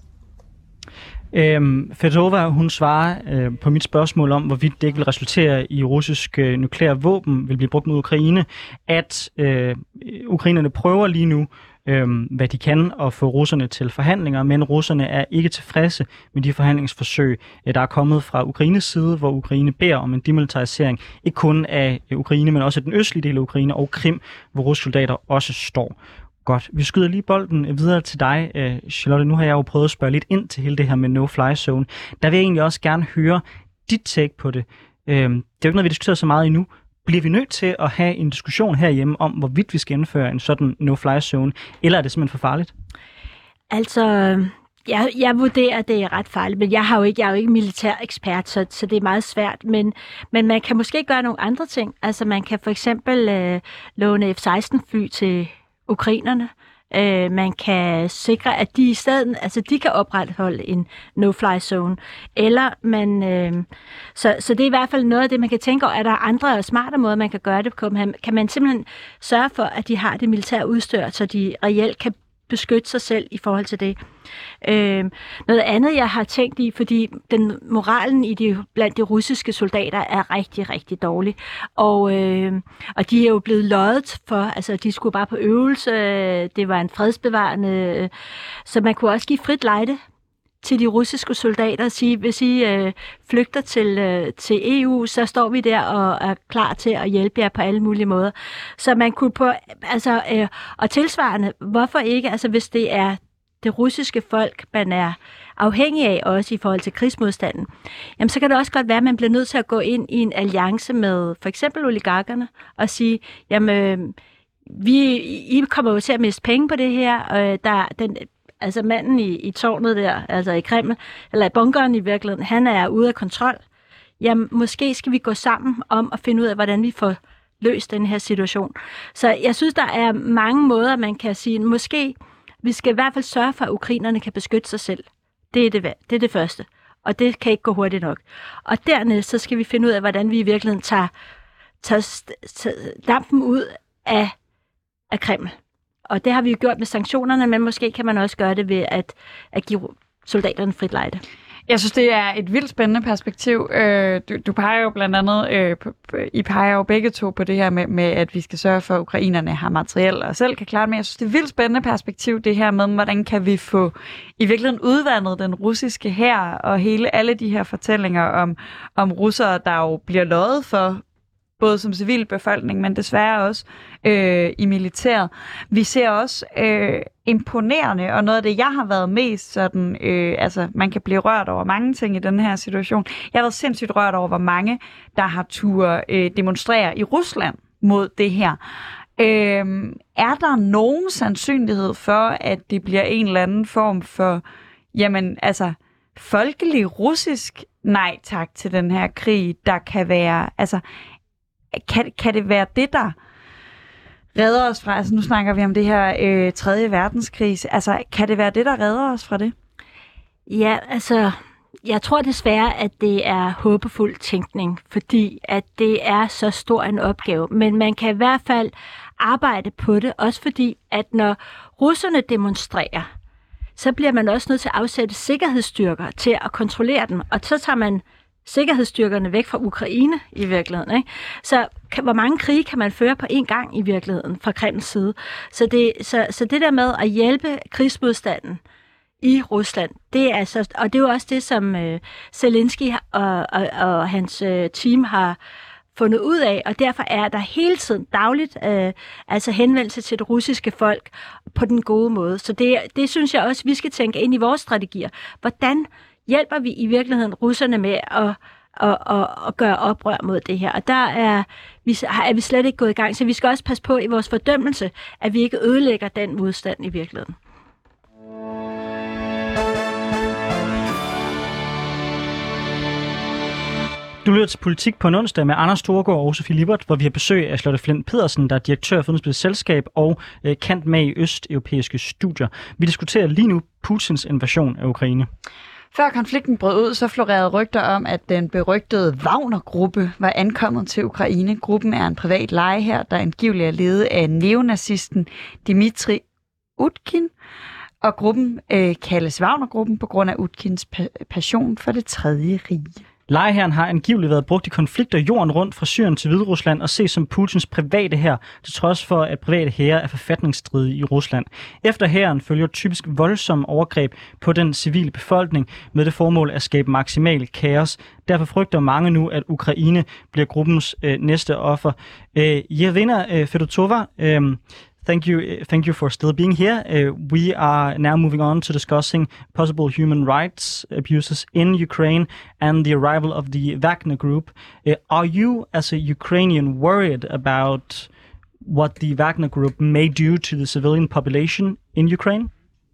Øhm, Fedotova, hun svarer øh, på mit spørgsmål om, hvorvidt det ikke vil resultere i russiske øh, nukleære våben vil blive brugt mod Ukraine, at øh, ukrainerne prøver lige nu, øh, hvad de kan, at få russerne til forhandlinger, men russerne er ikke tilfredse med de forhandlingsforsøg, øh, der er kommet fra Ukraines side, hvor Ukraine beder om en demilitarisering, ikke kun af øh, Ukraine, men også af den østlige del af Ukraine og Krim, hvor russiske soldater også står. Godt. Vi skyder lige bolden videre til dig, Charlotte. Nu har jeg jo prøvet at spørge lidt ind til hele det her med no-fly zone. Der vil jeg egentlig også gerne høre dit take på det. Det er jo ikke noget, vi diskuterer så meget endnu. Bliver vi nødt til at have en diskussion herhjemme om, hvorvidt vi skal indføre en sådan no-fly zone, eller er det simpelthen for farligt? Altså, jeg, jeg vurderer, at det er ret farligt, men jeg, har jo ikke, jeg er jo ikke militær ekspert, så, så det er meget svært. Men, men man kan måske gøre nogle andre ting. Altså, man kan for eksempel øh, låne F seksten fly til ukrainerne. Øh, man kan sikre, at de i stedet, altså de kan opretholde en no-fly zone. Eller man, øh, så, så det er i hvert fald noget af det, man kan tænke over. Er der andre og smarte måder, man kan gøre det på? Kan man simpelthen sørge for, at de har det militære udstyr, så de reelt kan beskytte sig selv i forhold til det. Øh, noget andet, jeg har tænkt i, fordi den moralen i de, blandt de russiske soldater er rigtig, rigtig dårlig. Og, øh, og de er jo blevet løjet for, altså de skulle bare på øvelse, det var en fredsbevarende, så man kunne også give frit lejde til de russiske soldater og sige, hvis I øh, flygter til, øh, til E U, så står vi der og er klar til at hjælpe jer på alle mulige måder. Så man kunne på, altså, øh, og tilsvarende, hvorfor ikke, altså hvis det er det russiske folk, man er afhængig af, også i forhold til krigsmodstanden, jamen så kan det også godt være, at man bliver nødt til at gå ind i en alliance med for eksempel oligarkerne og sige, jamen, øh, vi, I kommer jo til at miste penge på det her, øh, der den altså manden i, i tårnet der, altså i Kreml, eller i bunkeren i virkeligheden, han er ude af kontrol. Jamen, måske skal vi gå sammen om at finde ud af, hvordan vi får løst den her situation. Så jeg synes, der er mange måder, man kan sige, måske vi skal i hvert fald sørge for, at ukrainerne kan beskytte sig selv. Det er det, det er det første. Og det kan ikke gå hurtigt nok. Og dernæst, så skal vi finde ud af, hvordan vi i virkeligheden tager, tager, tager dampen ud af, af Kreml. Og det har vi jo gjort med sanktionerne, men måske kan man også gøre det ved at, at give soldaterne frit lejde. Jeg synes, det er et vildt spændende perspektiv. Du, du peger jo blandt andet, øh, I peger jo begge to på det her med, med, at vi skal sørge for, at ukrainerne har materiel og selv kan klare det. Men jeg synes, det er et vildt spændende perspektiv, det her med, hvordan kan vi få i virkeligheden udvandet den russiske hær og hele alle de her fortællinger om, om russere, der jo bliver løjet for både som civilbefolkning, men desværre også øh, i militæret. Vi ser også øh, imponerende, og noget af det, jeg har været mest sådan, øh, altså man kan blive rørt over mange ting i den her situation. Jeg har været sindssygt rørt over, hvor mange, der har tur øh, demonstrere i Rusland mod det her. Øh, er der nogen sandsynlighed for, at det bliver en eller anden form for, jamen altså, folkelig russisk nej tak til den her krig, der kan være, altså, kan, kan det være det, der redder os fra, altså nu snakker vi om det her øh, tredje verdenskrig, altså kan det være det, der redder os fra det? Ja, altså, jeg tror desværre, at det er håbefuld tænkning, fordi at det er så stor en opgave, men man kan i hvert fald arbejde på det, også fordi, at når russerne demonstrerer, så bliver man også nødt til at afsætte sikkerhedsstyrker til at kontrollere dem, og så tager man sikkerhedsstyrkerne væk fra Ukraine i virkeligheden. Ikke? Så kan, hvor mange krige kan man føre på én gang i virkeligheden fra Kremls side? Så det, så, så det der med at hjælpe krigsmodstanden i Rusland, det er altså, og det er jo også det, som øh, Zelensky og, og, og hans øh, team har fundet ud af, og derfor er der hele tiden dagligt øh, altså henvendelse til det russiske folk på den gode måde. Så det, det synes jeg også, vi skal tænke ind i vores strategier. Hvordan hjælper vi i virkeligheden russerne med at, at, at, at gøre oprør mod det her? Og der er vi, er vi slet ikke gået i gang, så vi skal også passe på i vores fordømmelse, at vi ikke ødelægger den modstand i virkeligheden. Du lytter til Politik på en onsdag med Anders Storgård og Sofie Lippert, hvor vi har besøg af Charlotte Flint Pedersen, der er direktør for Udenrigspolitisk Selskab og øh, kendt med i østeuropæiske studier. Vi diskuterer lige nu Putins invasion af Ukraine. Før konflikten brød ud, så florerede rygter om, at den berygtede Wagner-gruppe var ankommet til Ukraine. Gruppen er en privat legehær, der angiveligt er ledet af neonazisten Dmitri Utkin. Og gruppen øh, kaldes Wagner-gruppen på grund af Utkins pa- passion for det tredje rige. Legehæren har angiveligt været brugt i konflikter jorden rundt fra Syrien til Hviderusland og ses som Putins private hær, til trods for, at private hære er forfatningsstridige i Rusland. Efter hæren følger typisk voldsomme overgreb på den civile befolkning med det formål at skabe maksimal kaos. Derfor frygter mange nu, at Ukraine bliver gruppens øh, næste offer. Øh, Jelena øh, Fedotova, øh, Thank you, thank you for still being here. Uh, we are now moving on to discussing possible human rights abuses in Ukraine and the arrival of the Wagner Group. Uh, are you, as a Ukrainian, worried about what the Wagner Group may do to the civilian population in Ukraine?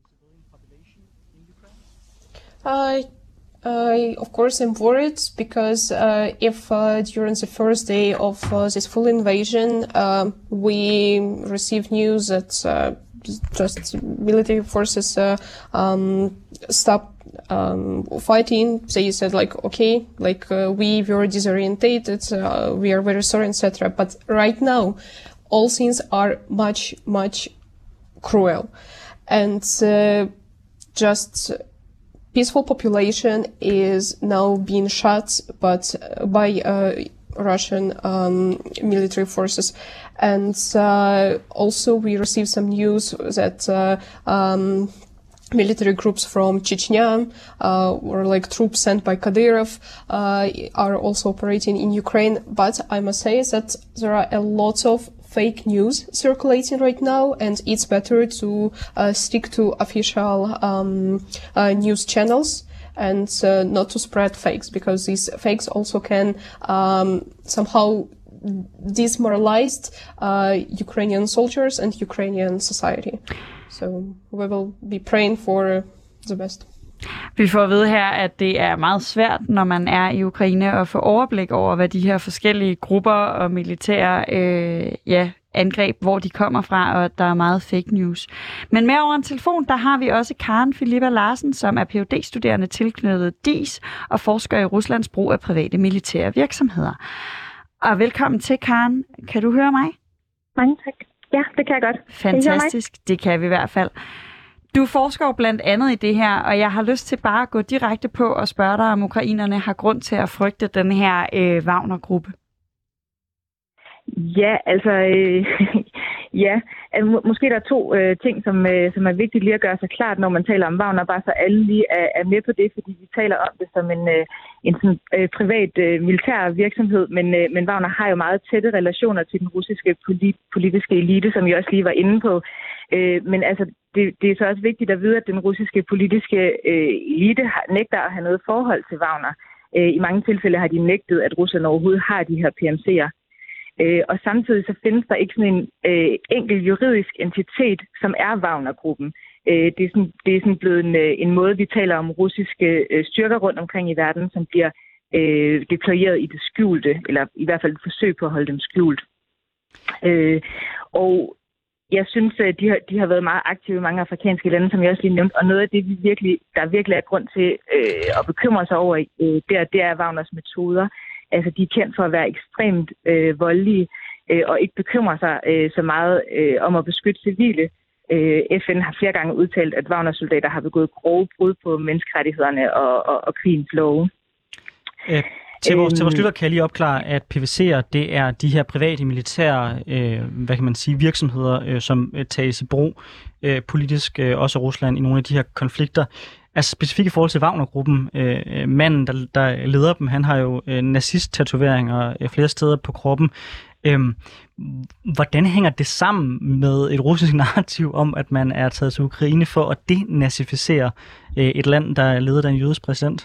Uh, I, of course, am worried because uh, if uh, during the first day of uh, this full invasion uh, we received news that uh, just military forces uh, um, stopped um, fighting, they said like, okay, like uh, we were disorientated, uh, we are very sorry, et cetera. But right now, all things are much, much cruel, and uh, just. Peaceful population is now being shot, but uh, by uh, Russian um, military forces, and uh, also we received some news that uh, um, military groups from Chechnya, uh, or like troops sent by Kadyrov, uh, are also operating in Ukraine. But I must say that there are a lot of fake news circulating right now, and it's better to uh, stick to official um, uh, news channels and uh, not to spread fakes, because these fakes also can um, somehow demoralize uh, Ukrainian soldiers and Ukrainian society. So we will be praying for the best. Vi får at vide her, at det er meget svært, når man er i Ukraine, at få overblik over, hvad de her forskellige grupper og militære øh, ja, angreb, hvor de kommer fra, og der er meget fake news. Men med over en telefon, der har vi også Karen Filippa Larsen, som er P H D-studerende tilknyttet D I S og forsker i Ruslands brug af private militære virksomheder. Og velkommen til, Karen. Kan du høre mig? Mange tak. Ja, det kan jeg godt. Fantastisk. Kan det kan vi i hvert fald. Du forsker jo blandt andet i det her, og jeg har lyst til bare at gå direkte på og spørge dig, om ukrainerne har grund til at frygte den her øh, Wagner-gruppe. Ja, altså, øh, Ja, altså, må, måske der er to øh, ting, som, øh, som er vigtigt lige at gøre sig klart, når man taler om Wagner, bare så alle lige er, er med på det, fordi vi taler om det som en, øh, en sådan, øh, privat øh, militær virksomhed, men, øh, men Wagner har jo meget tætte relationer til den russiske polit, politiske elite, som jeg også lige var inde på. Øh, men altså, det, det er så også vigtigt at vide, at den russiske politiske øh, elite har, nægter at have noget forhold til Wagner. Øh, I mange tilfælde har de nægtet, at Rusland overhovedet har de her P M C'er. Øh, og samtidig så findes der ikke sådan en øh, enkel juridisk entitet, som er Wagner-gruppen. Øh, det, er sådan, det er sådan blevet en, en måde, vi taler om russiske øh, styrker rundt omkring i verden, som bliver øh, deployeret i det skjulte, eller i hvert fald et forsøg på at holde dem skjult. Øh, og jeg synes, at de har, de har været meget aktive i mange afrikanske lande, som jeg også lige nævnte, og noget af det, vi virkelig, der virkelig er grund til øh, at bekymre sig over, øh, der, det er Wagners metoder. Altså, de er kendt for at være ekstremt øh, voldelige øh, og ikke bekymre sig øh, så meget øh, om at beskytte civile. Øh, F N har flere gange udtalt, at Wagner-soldater har begået grove brud på menneskerettighederne og, og, og krigens love. Øh, til, vores, til vores lytter kan jeg lige opklare, at P V C'er, det er de her private militære øh, hvad kan man sige, virksomheder, øh, som øh, tages i brug øh, politisk, øh, også af Rusland, i nogle af de her konflikter. Altså specifikt i forhold til Wagner-gruppen, øh, manden, der, der leder dem, han har jo øh, nazist-tatoveringer øh, flere steder på kroppen. Øh, hvordan hænger det sammen med et russisk narrativ om, at man er taget til Ukraine for at denazificere øh, et land, der er ledet af en jødisk præsident?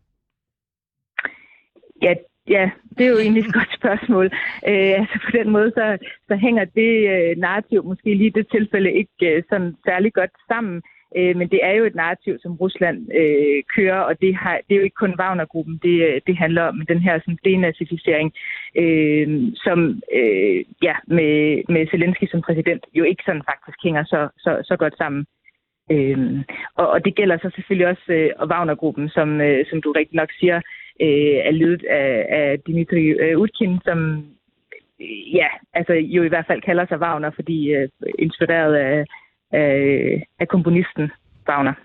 Ja, ja, det er jo egentlig et godt spørgsmål. Øh, altså på den måde, så, så hænger det øh, narrativ måske lige i det tilfælde ikke øh, sådan særlig godt sammen. Men det er jo et narrativ, som Rusland øh, kører, og det, har, det er jo ikke kun Wagner-gruppen, det, det handler om den her sådan, denazificering, øh, som øh, ja, med, med Zelensky som præsident jo ikke sådan faktisk hænger så, så, så godt sammen. Øh, og, og det gælder så selvfølgelig også øh, Wagner-gruppen, som, øh, som du rigtig nok siger, øh, er ledet af, af Dmitry øh, Utkin, som øh, ja, altså jo i hvert fald kalder sig Wagner, fordi øh, inspireret af af komponisten Wagner.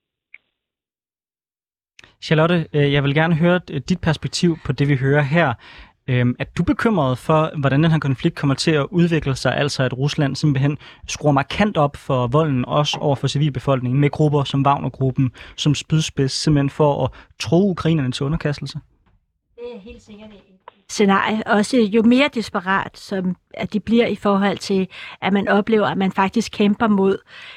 Charlotte, jeg vil gerne høre dit perspektiv på det, vi hører her. Er du bekymret for, hvordan den her konflikt kommer til at udvikle sig, altså at Rusland simpelthen skruer markant op for volden, også over for civilbefolkningen, med grupper som Wagner-gruppen, som spydspids, simpelthen for at tro ukrainerne til underkastelse? Det er helt sikkert et scenarie. Også jo mere desperat, som at de bliver i forhold til, at man oplever, at man faktisk kæmper mod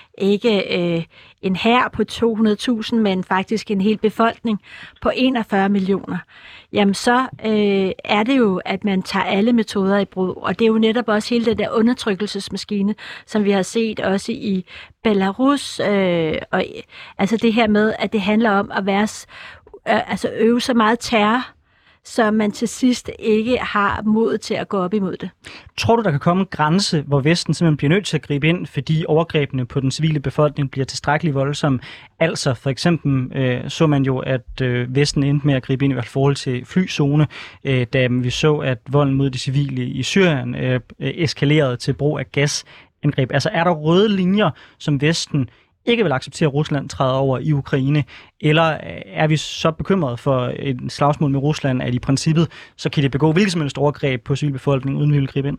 ikke øh, en hær på to hundrede tusind, men faktisk en hel befolkning på enogfyrre millioner. Jamen så øh, er det jo, at man tager alle metoder i brug. Og det er jo netop også hele den der undertrykkelsesmaskine, som vi har set også i Belarus. Øh, og, altså det her med, at det handler om at være, øh, altså øve så meget terror, så man til sidst ikke har mod til at gå op imod det. Tror du, der kan komme en grænse, hvor Vesten simpelthen bliver nødt til at gribe ind, fordi overgrebene på den civile befolkning bliver tilstrækkeligt voldsomme? Altså for eksempel øh, så man jo, at øh, Vesten endte med at gribe ind i hvert forhold til flyzone, øh, da vi så, at volden mod de civile i Syrien øh, eskalerede til brug af gasangreb. Altså er der røde linjer, som Vesten ikke vil acceptere, at Rusland træder over i Ukraine, eller er vi så bekymrede for et slagsmål med Rusland, at i princippet, så kan det begå hvilket som helst overgreb på civilbefolkningen, uden vi vil gribe ind?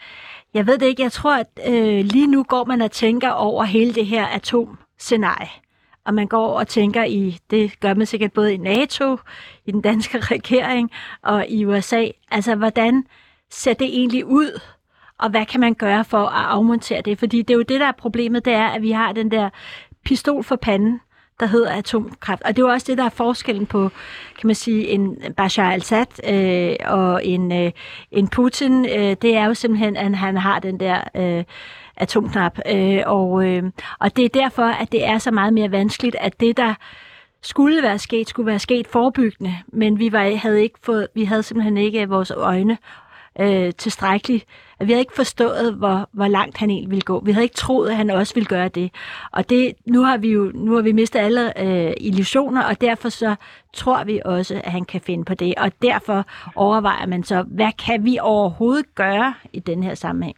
Jeg ved det ikke. Jeg tror, at øh, lige nu går man og tænker over hele det her atomscenarie. Og man går og tænker i, det gør man sikkert både i NATO, i den danske regering og i U S A. Altså, hvordan ser det egentlig ud? Og hvad kan man gøre for at afmontere det? Fordi det er jo det, der er problemet, det er, at vi har den der pistol for panden, der hedder atomkraft. Og det er jo også det, der er forskellen på, kan man sige, en Bashar al-Assad øh, og en, øh, en Putin. Øh, det er jo simpelthen, at han har den der øh, atomknap. Øh, og, øh, og det er derfor, at det er så meget mere vanskeligt, at det, der skulle være sket, skulle være sket forebyggende. Men vi, var, havde, ikke fået, vi havde simpelthen ikke vores øjne Øh, tilstrækkeligt. Vi havde ikke forstået, hvor, hvor langt han egentlig ville gå. Vi havde ikke troet, at han også ville gøre det. Og det, nu har vi jo nu har vi mistet alle øh, illusioner, og derfor så tror vi også, at han kan finde på det. Og derfor overvejer man så, hvad kan vi overhovedet gøre i den her sammenhæng?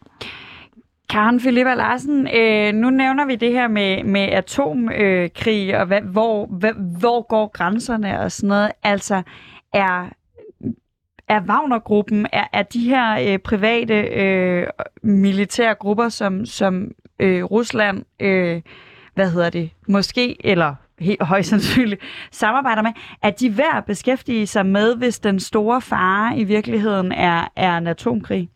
Karen Filippa Larsen, øh, nu nævner vi det her med, med atomkrig, øh, og hvad, hvor, hvad, hvor går grænserne og sådan noget. Altså, er er Wagner-gruppen, er, er de her øh, private øh, militære grupper, som, som øh, Rusland, øh, hvad hedder det, måske, eller helt højst sandsynligt, samarbejder med, er de værd at beskæftige sig med, hvis den store fare i virkeligheden er, er en atomkrig?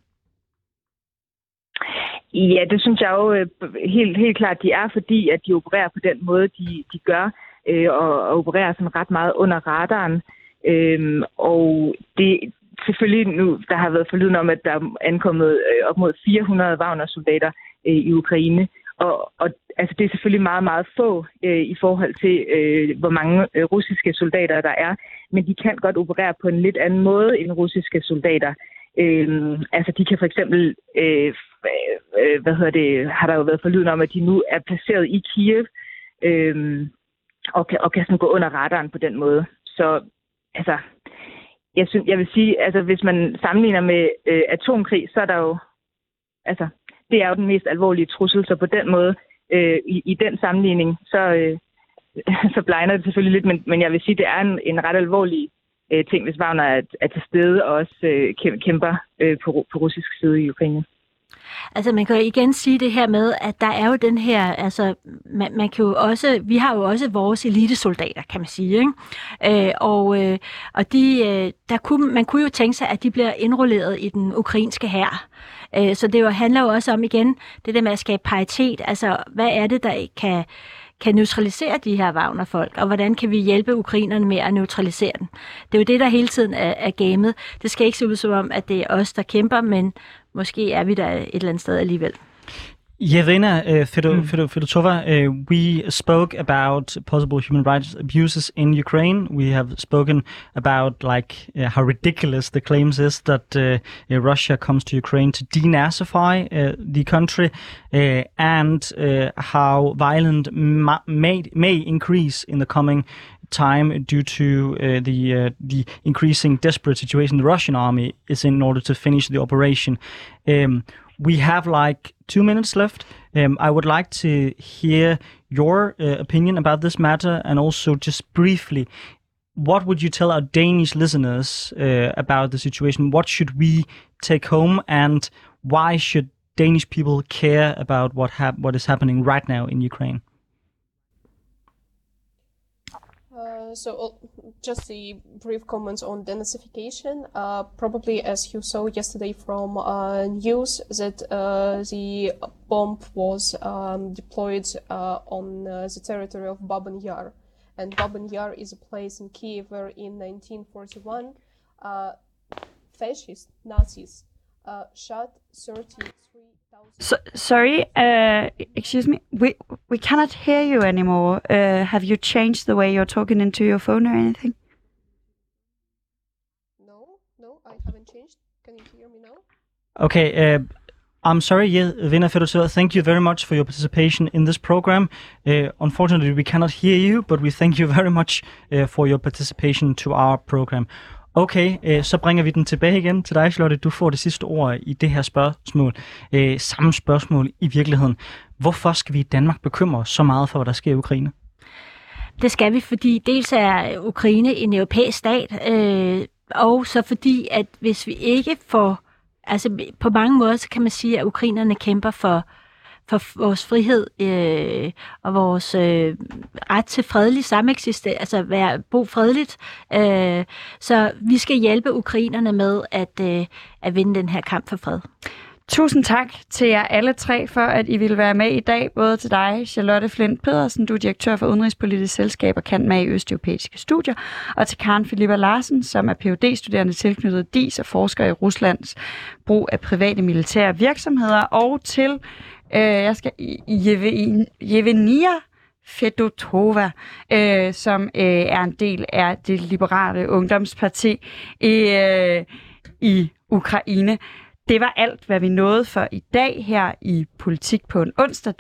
Ja, det synes jeg jo helt, helt klart, de er, fordi at de opererer på den måde, de, de gør, øh, og, og opererer sådan ret meget under radaren. Øhm, og det selvfølgelig nu, der har været forlyden om, at der er ankommet øh, op mod fire hundrede Wagner-soldater øh, i Ukraine. Og, og altså, det er selvfølgelig meget, meget få øh, i forhold til, øh, hvor mange øh, russiske soldater der er. Men de kan godt operere på en lidt anden måde end russiske soldater. Øh, altså, de kan for eksempel, øh, øh, hvad hedder det, har der jo været forlyden om, at de nu er placeret i Kiev, øh, og kan, og kan sådan gå under radaren på den måde. Så altså, jeg, synes, jeg vil sige, altså, hvis man sammenligner med øh, atomkrig, så er der jo, altså, det er jo den mest alvorlige trussel, så på den måde, øh, i, i den sammenligning, så, øh, så blegner det selvfølgelig lidt, men, men jeg vil sige, det er en, en ret alvorlig øh, ting, hvis Wagner er, er til stede og også øh, kæmper øh, på, på russisk side i Ukraine. Altså man kan jo igen sige det her med, at der er jo den her, altså man, man kan jo også, vi har jo også vores elitesoldater, kan man sige, ikke? Øh, og øh, og de, øh, der kunne, man kunne jo tænke sig, at de bliver indrulleret i den ukrainske hær. Øh, så det jo handler jo også om igen, det der med at skabe paritet, altså hvad er det, der kan kan neutralisere de her Wagner-folk, og hvordan kan vi hjælpe ukrainerne med at neutralisere den. Det er jo det, der hele tiden er, er gamet. Det skal ikke se ud som om, at det er os, der kæmper, men måske er vi der et eller andet sted alligevel. Yevgenia uh, Fedotova, uh, we spoke about possible human rights abuses in Ukraine. We have spoken about like uh, how ridiculous the claims is that uh, uh, Russia comes to Ukraine to denazify uh, the country, uh, and uh, how violent ma- may may increase in the coming time due to uh, the uh, the increasing desperate situation the Russian army is in, in order to finish the operation. Um, We have like two minutes left. Um, I would like to hear your uh, opinion about this matter, and also just briefly, what would you tell our Danish listeners uh, about the situation? What should we take home, and why should Danish people care about what hap- what is happening right now in Ukraine? Uh, so uh, just a brief comments on denazification. Uh, probably as you saw yesterday from uh, news that uh, the bomb was um, deployed uh, on uh, the territory of Babyn Yar. And Babyn Yar is a place in Kiev where in nineteen forty-one uh, fascist Nazis uh, shot thirty-three thousand... So, sorry, uh, excuse me, we we cannot hear you anymore. Uh, have you changed the way you're talking into your phone or anything? No, no, I haven't changed. Can you hear me now? Okay, uh, I'm sorry, Yevgenia Fedotova, thank you very much for your participation in this program. Uh, unfortunately, we cannot hear you, but we thank you very much uh, for your participation to our program. Okay, øh, så bringer vi den tilbage igen til dig, Charlotte. Du får det sidste ord i det her spørgsmål. Øh, samme spørgsmål i virkeligheden. Hvorfor skal vi i Danmark bekymre os så meget for, hvad der sker i Ukraine? Det skal vi, fordi dels er Ukraine en europæisk stat, øh, og så fordi, at hvis vi ikke får... Altså på mange måder, så kan man sige, at ukrainerne kæmper for for vores frihed øh, og vores øh, ret til fredelig sameksistens, altså være, bo fredeligt. Øh, så vi skal hjælpe ukrainerne med at, øh, at vinde den her kamp for fred. Tusind tak til jer alle tre for, at I ville være med i dag. Både til dig, Charlotte Flint Pedersen, du er direktør for Udenrigspolitisk Selskab og kendt med i Østeuropæiske Studier, og til Karen Filippa Larsen, som er P H D-studerende tilknyttet D I S og forsker i Ruslands brug af private militære virksomheder, og til øh, jeg skal Yevgenia Fedotova, øh, som øh, er en del af det liberale ungdomsparti i, øh, i Ukraine. Det var alt, hvad vi nåede for i dag her i Politik på en onsdag.